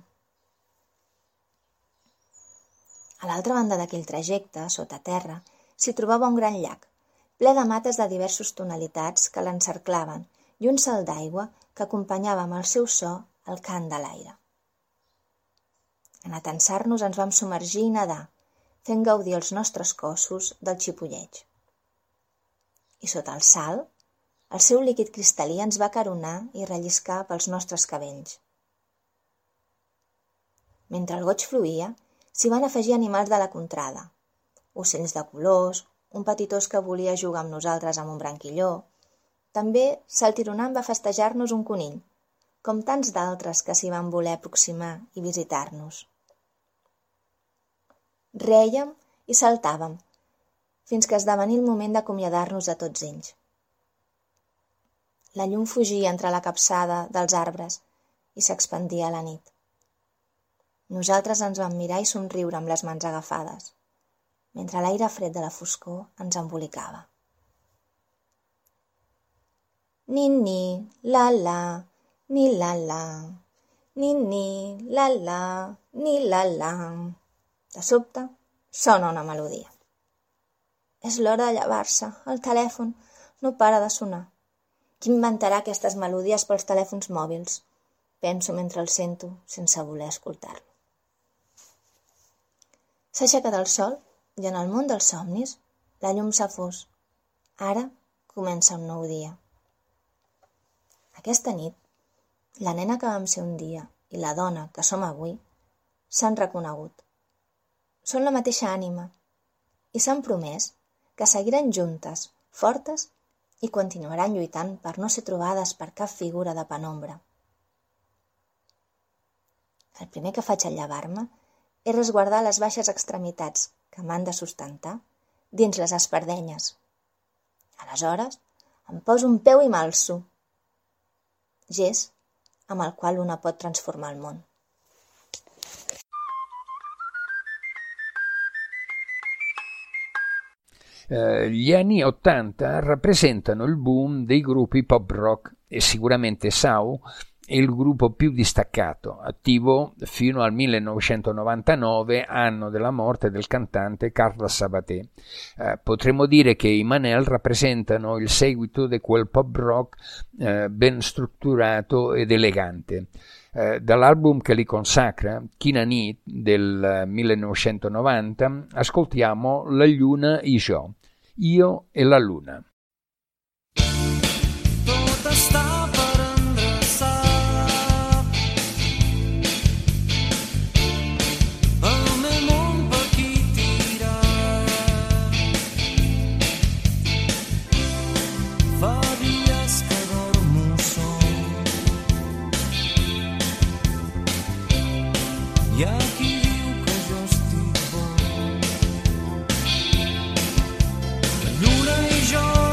Speaker 4: A l'altra banda d'aquell trajecte, sota terra, s'hi trobava un gran llac, ple de mates de diverses tonalitats que l'encerclaven i un salt d'aigua que acompanyava amb el seu so el cant de l'aire. En atansar-nos ens vam submergir i nedar, fent gaudir els nostres cossos del xipolleig. I sota el salt, el seu líquid cristal·lí ens va caronar i relliscar pels nostres cabells. Mentre el goig fluïa, s'hi van afegir animals de la contrada, ocells de colors, un petit ós que volia jugar amb nosaltres amb un branquilló. També saltironant va festejar-nos un conill, com tants d'altres que s'hi van voler aproximar i visitar-nos. Rèiem i saltàvem, fins que esdevenia el moment d'acomiadar-nos de tots ells. La llum fugia entre la capçada dels arbres i s'expandia a la nit. Nosaltres ens vam mirar i somriure amb les mans agafades, mentre l'aire fred de la foscor ens embolicava. Ni-ni, la-la, ni-la-la, ni-ni, la-la, ni-la-la. De sobte, sona una melodia. És l'hora de llevar-se. El telèfon no para de sonar. Qui inventarà aquestes melodies pels telèfons mòbils? Penso mentre el sento, sense voler escoltar-lo. S'ha aixecat el sol I en el món dels somnis, la llum s'ha fos. Ara comença un nou dia. Aquesta nit, la nena que vam ser un dia i la dona que som avui s'han reconegut. Són la mateixa ànima i s'han promès que seguiran juntes, fortes, i continuaran lluitant per no ser trobades per cap figura de penombra. El primer que faig al llevar-me és resguardar les baixes extremitats que m'han de sustentar dins les espardenyes. Aleshores, em poso un peu i m'alço. Gest amb el qual una pot transformar el món.
Speaker 13: Gli anni '80 rappresentano il boom dei gruppi pop rock e sicuramente Sau è il gruppo più distaccato, attivo fino al 1999, anno della morte del cantante Carlos Sabaté. Potremmo dire che i Manel rappresentano il seguito di quel pop rock ben strutturato ed elegante. Dall'album che li consacra, Kinani del 1990, ascoltiamo La Luna i Jo, Io e la Luna.
Speaker 6: Tot està per endreçar. El meu món per aquí tirar. Fa dies que dormo sol. Hi ha qui diu que jo estic bo. La lluna i jo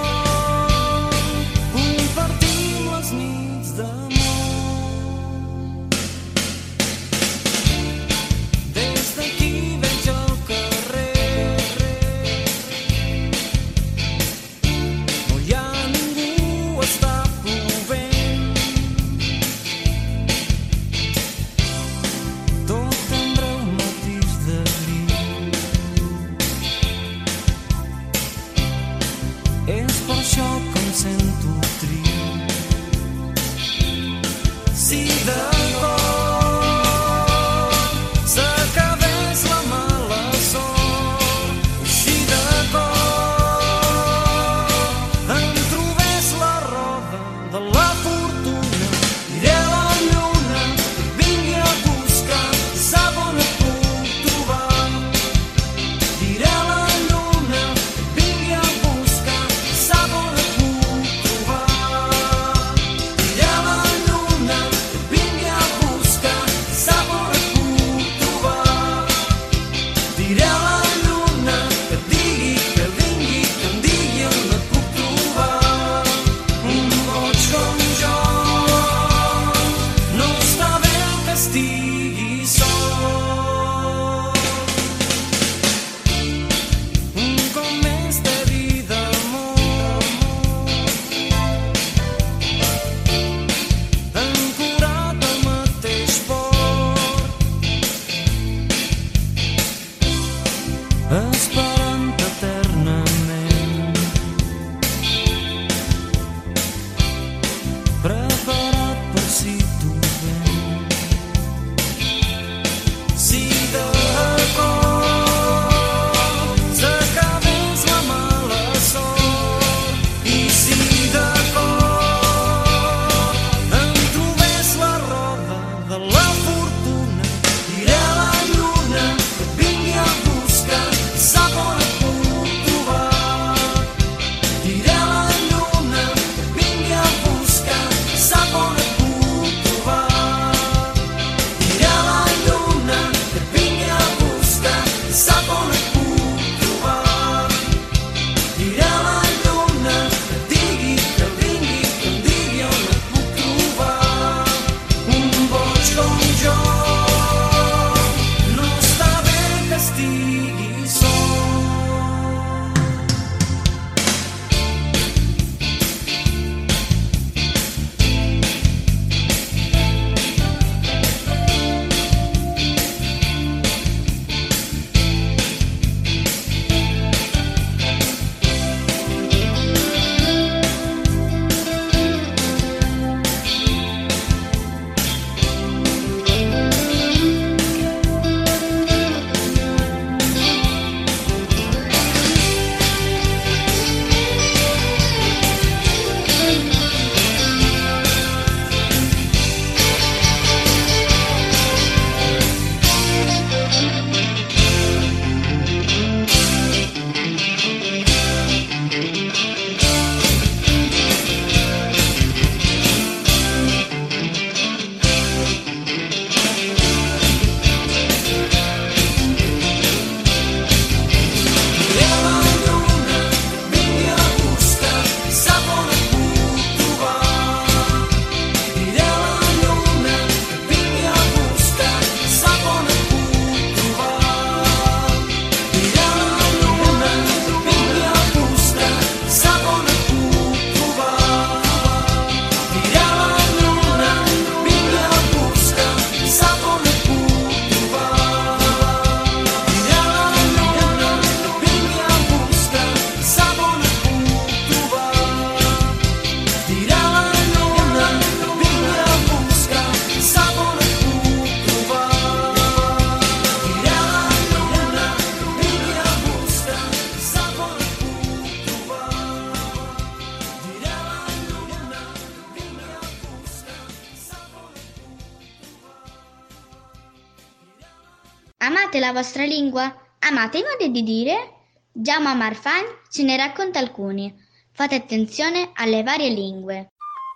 Speaker 9: Amate la vostra lingua? Amate i modi di dire? Jaume Marfany ce ne racconta alcuni. Fate attenzione alle varie lingue.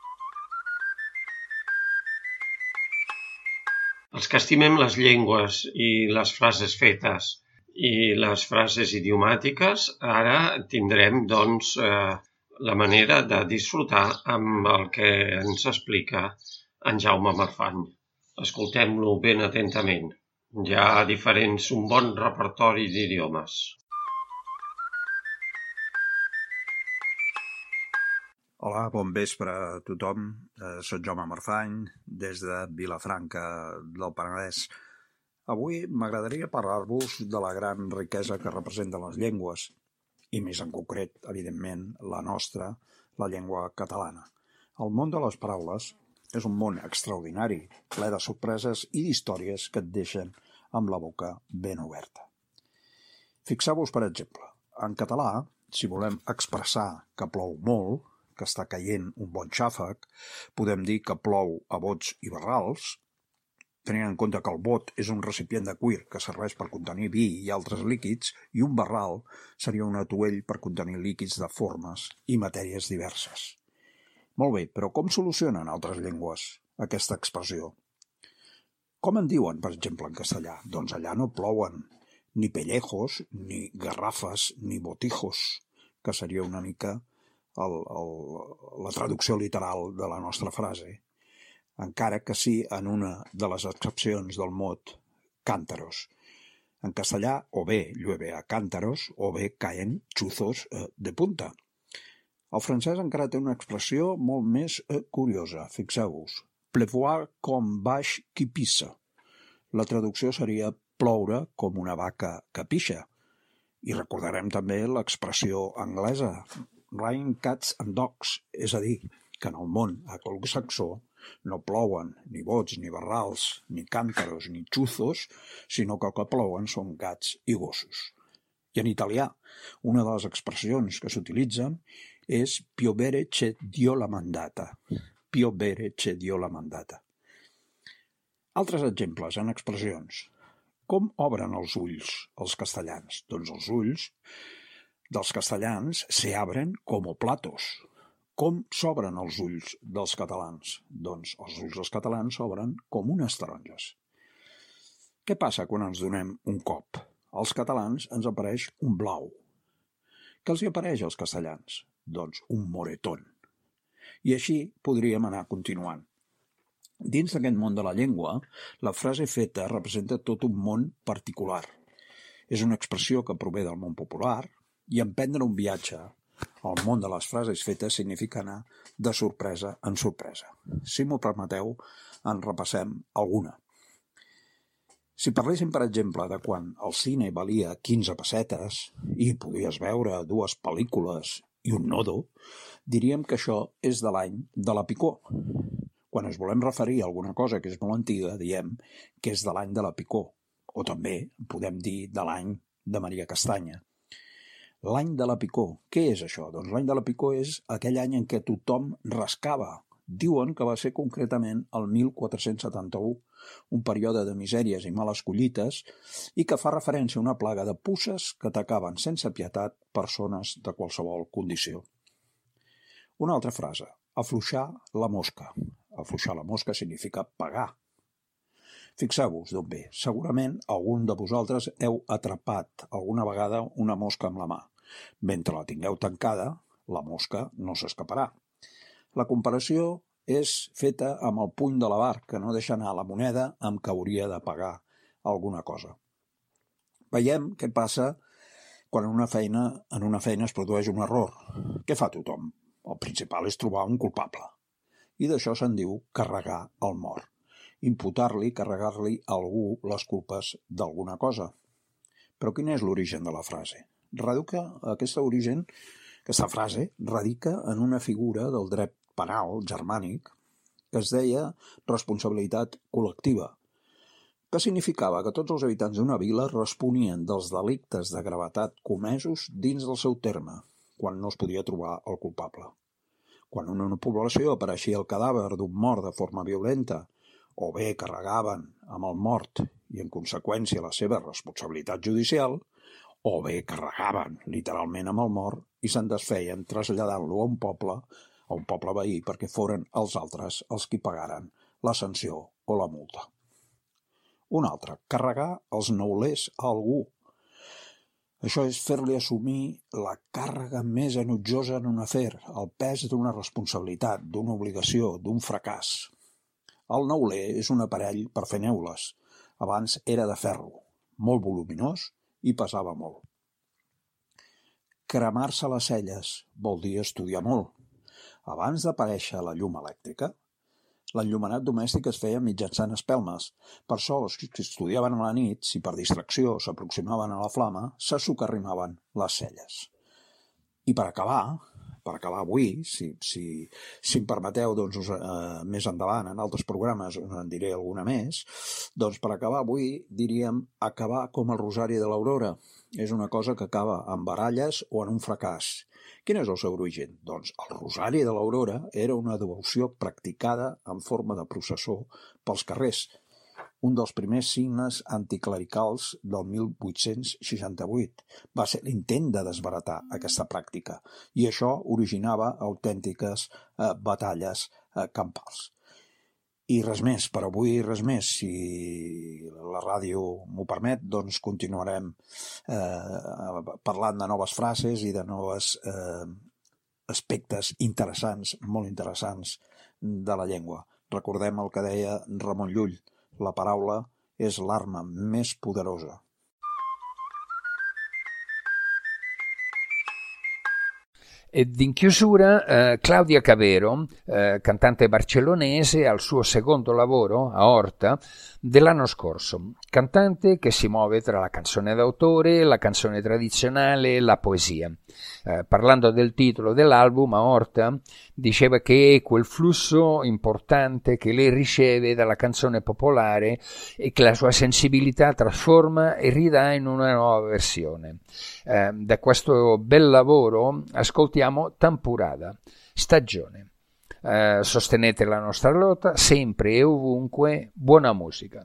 Speaker 10: Els que estimem les llengües i les frases fetes i les frases idiomàtiques, ara tindrem, doncs, la manera de disfrutar amb el que ens explica en Jaume Marfany. Escoltem-lo ben atentament. Hi ha un bon repertori d'idiomes.
Speaker 5: Hola, bon vespre a tothom. Soc Jaume Marfany, des de Vilafranca del Penedès. Avui m'agradaria parlar-vos de la gran riquesa que representen les llengües, i més en concret, evidentment, la nostra, la llengua catalana. El món de les paraules és un món extraordinari, ple de sorpreses i d'històries que et deixen amb la boca ben oberta. Fixeu-vos, per exemple, en català, si volem expressar que plou molt, que està caient un bon xàfec, podem dir que plou a bots i barrals, tenint en compte que el bot és un recipient de cuir que serveix per contenir vi i altres líquids, i un barral seria un atuell per contenir líquids de formes i matèries diverses. Molt bé, però com solucionen altres llengües aquesta expressió? Com en diuen, per exemple, en castellà? Doncs allà no plouen ni pellejos, ni garrafes, ni botijos, que seria una mica la traducció literal de la nostra frase, encara que sí en una de les excepcions del mot cántaros. En castellà, o bé llueve a cántaros, o bé caen chuzos de punta. El francès encara té una expressió molt més curiosa, fixeu-vos. Pleuvoir comme vache qui pisse. La traducció seria ploure com una vaca que pixa. I recordarem també l'expressió anglesa, rain cats and dogs, és a dir, que en el món anglosaxó no plouen ni bots, ni barrals, ni càntaros, ni chuzos, sinó que el que plouen són gats i gossos. I en italià, una de les expressions que s'utilitzen és piovere c'è Dio la mandata. Piovere c'è Dio la mandata. Altres exemples en expressions. Com obren els ulls els castellans? Doncs els ulls dels castellans se abren como platos. Com s'obren els ulls dels catalans? Doncs els ulls dels catalans s'obren com unes taronges. Què passa quan ens donem un cop? Als catalans ens apareix un blau. Què els hi apareix als castellans? Doncs un moretón. I així podríem anar continuant. Dins d'aquest món de la llengua, la frase feta representa tot un món particular. És una expressió que prové del món popular, i emprendre un viatge al món de les frases fetes significa anar de sorpresa en sorpresa. Si m'ho permeteu, en repassem alguna. Si parléssim, per exemple, de quan el cine valia 15 pessetes i podies veure 2 pel·lícules i un nodo, diríem que això és de l'any de la picó. Quan ens volem referir a alguna cosa que és molt antiga, diem que és de l'any de la picó, o també podem dir de l'any de Maria Castanya. L'any de la picó. Què és això? Doncs l'any de la picó és aquell any en què tothom rascava. Diuen que va ser concretament el 1471, un període de misèries i males collites, i que fa referència a una plaga de puces que atacaven sense pietat persones de qualsevol condició. Una altra frase, afluixar la mosca. Afluixar la mosca significa pagar. Fixeu-vos d'on ve. Segurament algun de vosaltres heu atrapat alguna vegada una mosca amb la mà. Mentre la tingueu tancada, la mosca no s'escaparà. La comparació és feta amb el puny de l'avar, que no deixa anar la moneda amb què hauria de pagar alguna cosa. Veiem què passa quan en una feina es produeix un error. Què fa tothom? El principal és trobar un culpable. I d'això se'n diu carregar el mort. Imputar-li, carregar-li a algú les culpes d'alguna cosa. Però quin és l'origen de la frase? Aquesta frase radica en una figura del dret penal germànic que es deia responsabilitat col·lectiva, que significava que tots els habitants d'una vila responien dels delictes de gravetat comesos dins del seu terme, quan no es podia trobar el culpable. Quan en una població apareixia el cadàver d'un mort de forma violenta, o bé carregaven amb el mort i, en conseqüència, la seva responsabilitat judicial, o bé carregaven literalment amb el mort i se'n desfeien traslladant-lo a un poble veí perquè foren els altres els qui pagaren la sanció o la multa. Un altre, carregar els neulers a algú. Això és fer-li assumir la càrrega més enutjosa en un afer, el pes d'una responsabilitat, d'una obligació, d'un fracàs. El neuler és un aparell per fer neules. Abans era de ferro, molt voluminós i pesava molt. Cremar-se les celles vol dir estudiar molt. Abans d'aparèixer la llum elèctrica, l'enllumenat domèstic es feia mitjançant espelmes. Per això, els que estudiaven a la nit, si per distracció s'aproximaven a la flama, se socarrimaven les celles. I per acabar avui, si em permeteu, doncs, més endavant, en altres programes en diré alguna més, doncs per acabar avui diríem acabar com el Rosari de l'Aurora. És una cosa que acaba en baralles o en un fracàs. Quin és el seu origen? Doncs el Rosari de l'Aurora era una devoció practicada en forma de processó pels carrers, un dels primers signes anticlericals del 1868. Va ser l'intent de desbaratar aquesta pràctica i això originava autèntiques batalles campals. I res més, per avui res més. Si la ràdio m'ho permet, doncs continuarem parlant de noves frases i de noves aspectes interessants, molt interessants, de la llengua. Recordem el que deia Ramon Llull: la paraula és l'arma més poderosa.
Speaker 13: Ed in chiusura Claudia Cavero, cantante barcellonese, al suo secondo lavoro, Aorta, dell'anno scorso. Cantante che si muove tra la canzone d'autore, la canzone tradizionale e la poesia. Parlando del titolo dell'album, Aorta diceva che è quel flusso importante che lei riceve dalla canzone popolare e che la sua sensibilità trasforma e ridà in una nuova versione. Da questo bel lavoro ascoltiamo Tampurada, Stagione. Sostenete la nostra lotta sempre e ovunque. Buona musica.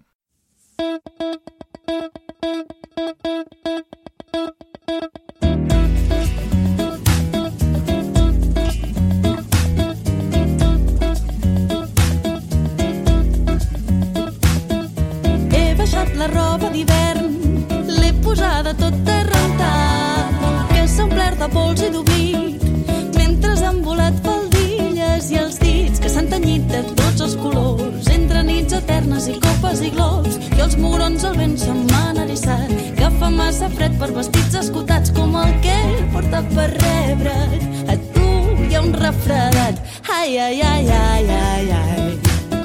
Speaker 7: He baixat la roba d'hivern, l'he posada tota a rentar, que s'ha omplert de pols i d'oblit, mentre han volat faldilles i els dits que s'han tenyit de tots els colors, entre nits eternes i copes i globs, i els mugrons al vent se m'han eriçat, que fa massa fred per vestits escotats com el que he portat per rebre't. A tu hi ha un refredat, ai, ai, ai, ai, ai, ai.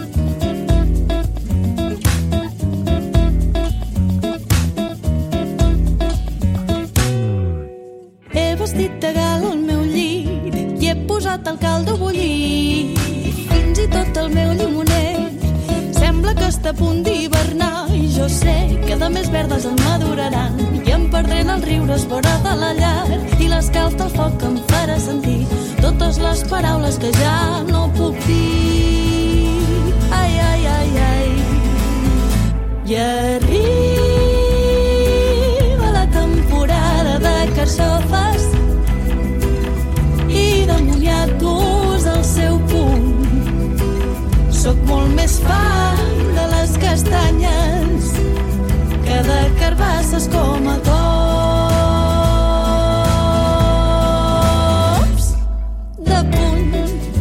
Speaker 7: He vestit de gala el meu llit i he posat el caldo a bullir, fins i tot el meu llimoner sembla que està a punt d'hivernar, i jo sé que de més verdes em maduraran i em perdré en els riures vora de la llar, i l'escalf del foc em farà sentir totes les paraules que ja no puc dir. Ai, ai, ai, ai. I arriba la temporada de carxofes i de moniatos al seu punt. Soc molt més fan de les castanyes que de carbasses com a cops de puny.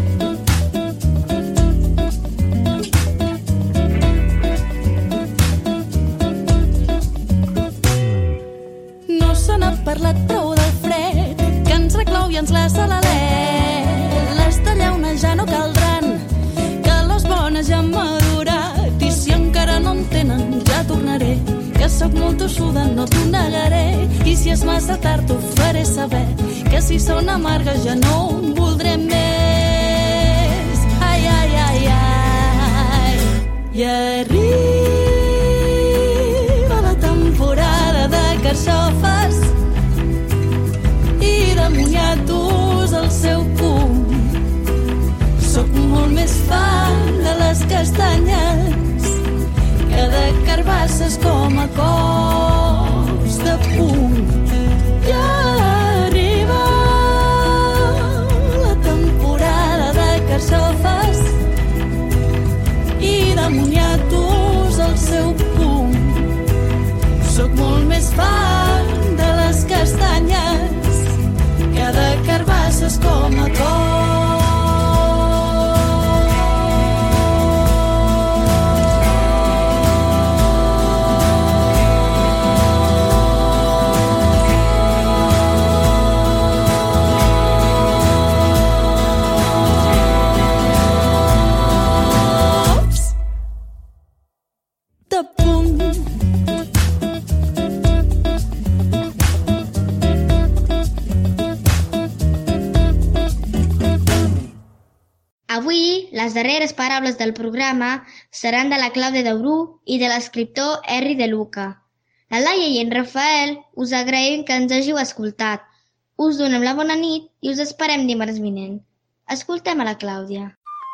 Speaker 7: No se n'ha parlat prou del fred que ens reclou i ens laça l'alè. Les tallaunes ja no caldran, bones ja han madurat, i si encara no en tenen ja tornaré, que sóc molt tossuda, no t'ho negaré, i si és massa tard t'ho faré saber, que si són amargues ja no en voldré més. Ai, ai, ai, ai. I arriba la temporada de carxofes i de moniatos al seu punt. Soc molt més fan de les castanyes que de carbasses carbasses com a cops de puny. I arriba la temporada de carxofes i de moniatos al seu punt. Soc molt més fan de les castanyes que de carbasses com a cops.
Speaker 9: Avui, les darreres paraules del programa seran de la Clàudia Daurú i de l'escriptor Henry De Luca. La Laia i en Rafael us agraïm que ens hàgiu escoltat. Us donem la bona nit i us esperem dimarts vinent. Ascoltem a la Clàudia.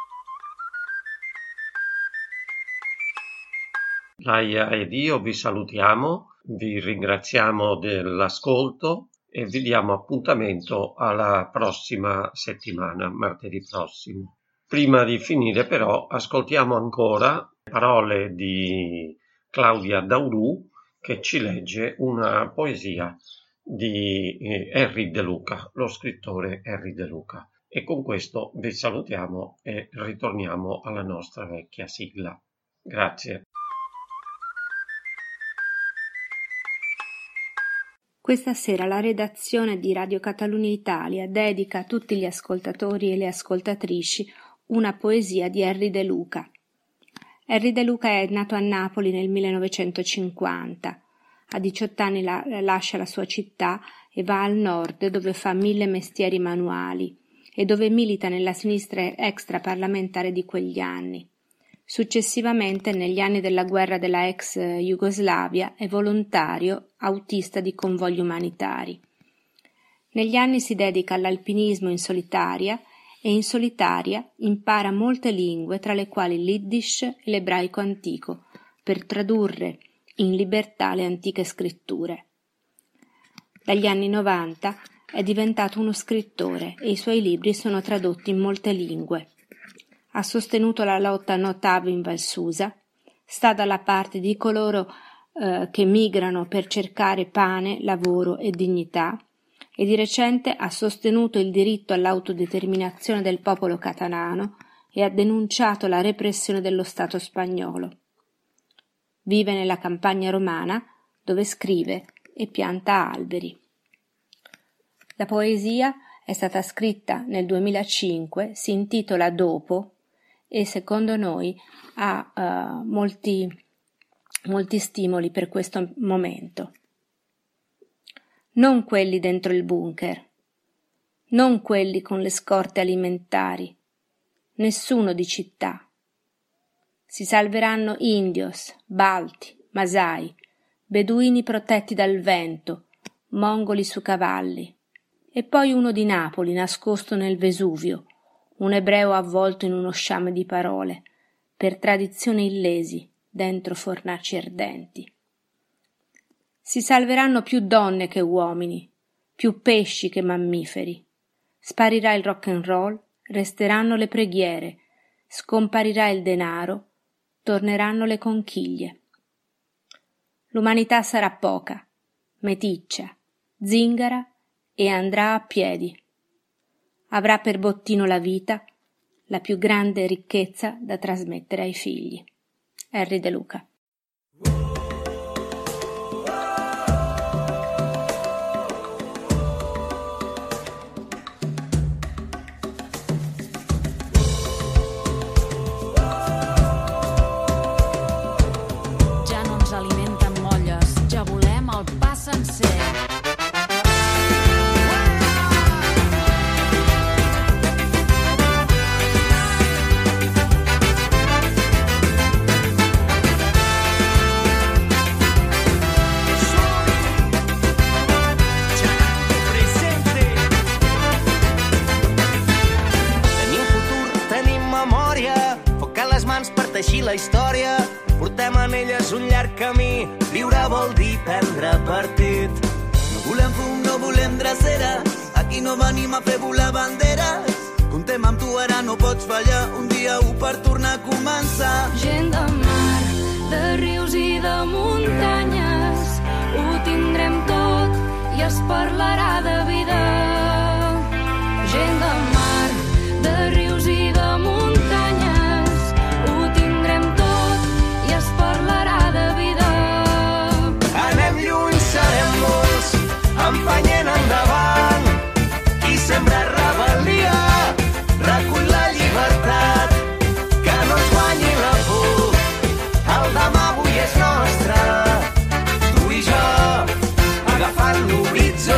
Speaker 10: Laia ed io vi salutiamo, vi ringraziamo dell'ascolto e vi diamo appuntamento alla prossima settimana, martedì prossimo. Prima di finire però ascoltiamo ancora parole di Claudia Daurù che ci legge una poesia di Henry De Luca, lo scrittore Henry De Luca. E con questo vi salutiamo e ritorniamo alla nostra vecchia sigla. Grazie.
Speaker 8: Questa sera la redazione di Radio Catalunya Italia dedica a tutti gli ascoltatori e le ascoltatrici una poesia di Henry De Luca. Henry De Luca è nato a Napoli nel 1950. A 18 anni lascia la sua città e va al nord dove fa 1000 mestieri manuali e dove milita nella sinistra extraparlamentare di quegli anni. Successivamente, negli anni della guerra della ex Jugoslavia, è volontario autista di convogli umanitari. Negli anni si dedica all'alpinismo in solitaria e in solitaria impara molte lingue, tra le quali l'Yiddish e l'ebraico antico, per tradurre in libertà le antiche scritture. Dagli anni 90 è diventato uno scrittore e i suoi libri sono tradotti in molte lingue. Ha sostenuto la lotta No TAV in Val Susa, sta dalla parte di coloro che migrano per cercare pane, lavoro e dignità e di recente ha sostenuto il diritto all'autodeterminazione del popolo catalano e ha denunciato la repressione dello Stato spagnolo. Vive nella campagna romana dove scrive e pianta alberi. La poesia è stata scritta nel 2005, si intitola Dopo e secondo noi ha molti stimoli per questo momento. Non quelli dentro il bunker, non quelli con le scorte alimentari, nessuno di città. Si salveranno indios, balti, masai, beduini protetti dal vento, mongoli su cavalli, e poi uno di Napoli nascosto nel Vesuvio, un ebreo avvolto in uno sciame di parole, per tradizione illesi, dentro fornaci ardenti. Si salveranno più donne che uomini, più pesci che mammiferi. Sparirà il rock and roll, resteranno le preghiere, scomparirà il denaro, torneranno le conchiglie. L'umanità sarà poca, meticcia, zingara e andrà a piedi. Avrà per bottino la vita, la più grande ricchezza da trasmettere ai figli. Henry De Luca.
Speaker 18: Ja no ens alimenten molles, ja volem el pa sencer.
Speaker 6: Teixir la història Portem en elles un llarg camí, viure vol dir prendre partit.
Speaker 11: No volem fum, no volem dreceres, aquí no venim a fer volar banderes. Contem amb tu, ara no pots fallar, un dia per tornar a començar.
Speaker 7: Gent de mar, de rius i de muntanyes, ho tindrem tot i es parlarà de vida. Gent de mar, de rius i de muntanyes, ho tindrem tot i es parlarà de vida.
Speaker 6: Anem lluny, serem molts, empenyent endavant. Qui sembra rebel·lia, recull la llibertat, que no ens guanyi la por. El demà avui és nostre, tu i jo, agafant l'horitzó.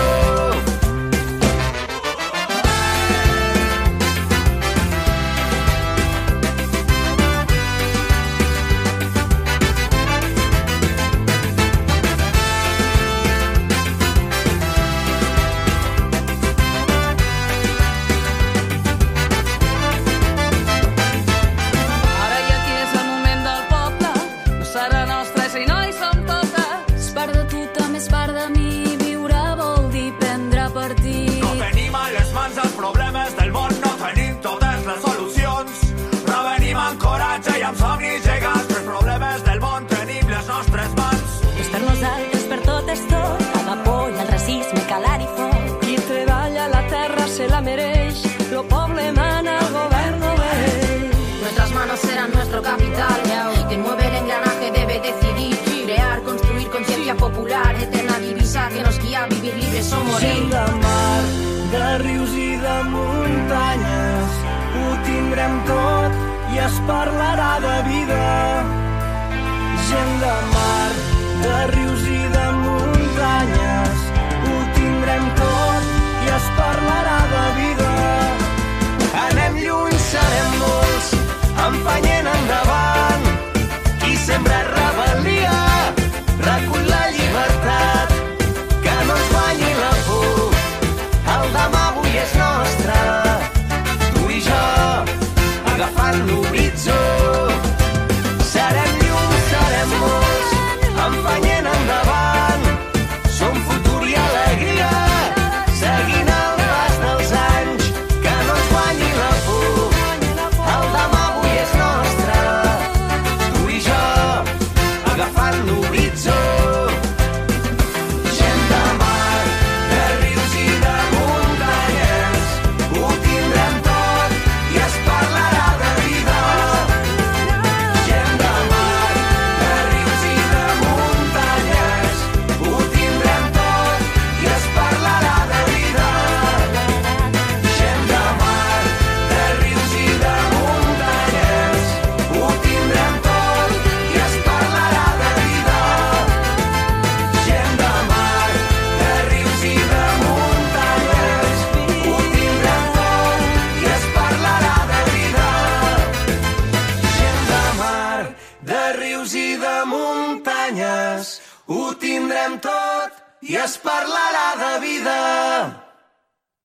Speaker 7: Ara i aquí és el moment del poble, no serà nostra si no hi som totes. És part de tu, també és part de mi, viure vol dir prendre partit.
Speaker 6: No tenim a les mans els problemes del món, no tenim totes les solucions, però venim amb coratge i amb somnis gegants. Els problemes del món tenim les nostres mans.
Speaker 12: És per nosaltres, per tot és tot, a la por i el racisme, calar i foc.
Speaker 7: Qui treballa la terra se la mereix, lo poble mana, el govern no ve.
Speaker 23: Nuestras manos serán nuestro capital. Quien mueve el engranaje debe decidir, crear, construir conciencia popular, eterna divisa que nos guía a vivir libres o morir.
Speaker 6: Gent de mar, de rius i de muntanyes, ho tindrem tot i es parlarà de vida. Gent de mar, de rius i de muntanyes, ho tindrem tot i es parlarà de vida. Anem lluny, serem molts, empenyent endavant. Qui sembra rebel·lia, recull la llibertat, que no ens guanyi la por. El demà avui és nostre, tu i jo, agafant l'horitzó. Serem llum, serem molts, empenyent endavant. Som futur i alegria, seguint el pas dels anys, que no ens guanyi la por. El demà avui és nostre, tu i jo, agafant l'horitzó. Gent de mar, de rius i de muntanyes, ho tindrem tot i es parlarà de vida. Gent de mar, de rius i de muntanyes, ho tindrem tot i es parlarà de vida. Gent de mar, de rius i de muntanyes, ho tindrem tot i es parlarà de vida. Gent de mar, de rius i de muntanyes, ho tindrem tot i es parlarà de vida. Gent de mar, de rius i de muntanyes, ho tindrem tot i es parlarà de vida.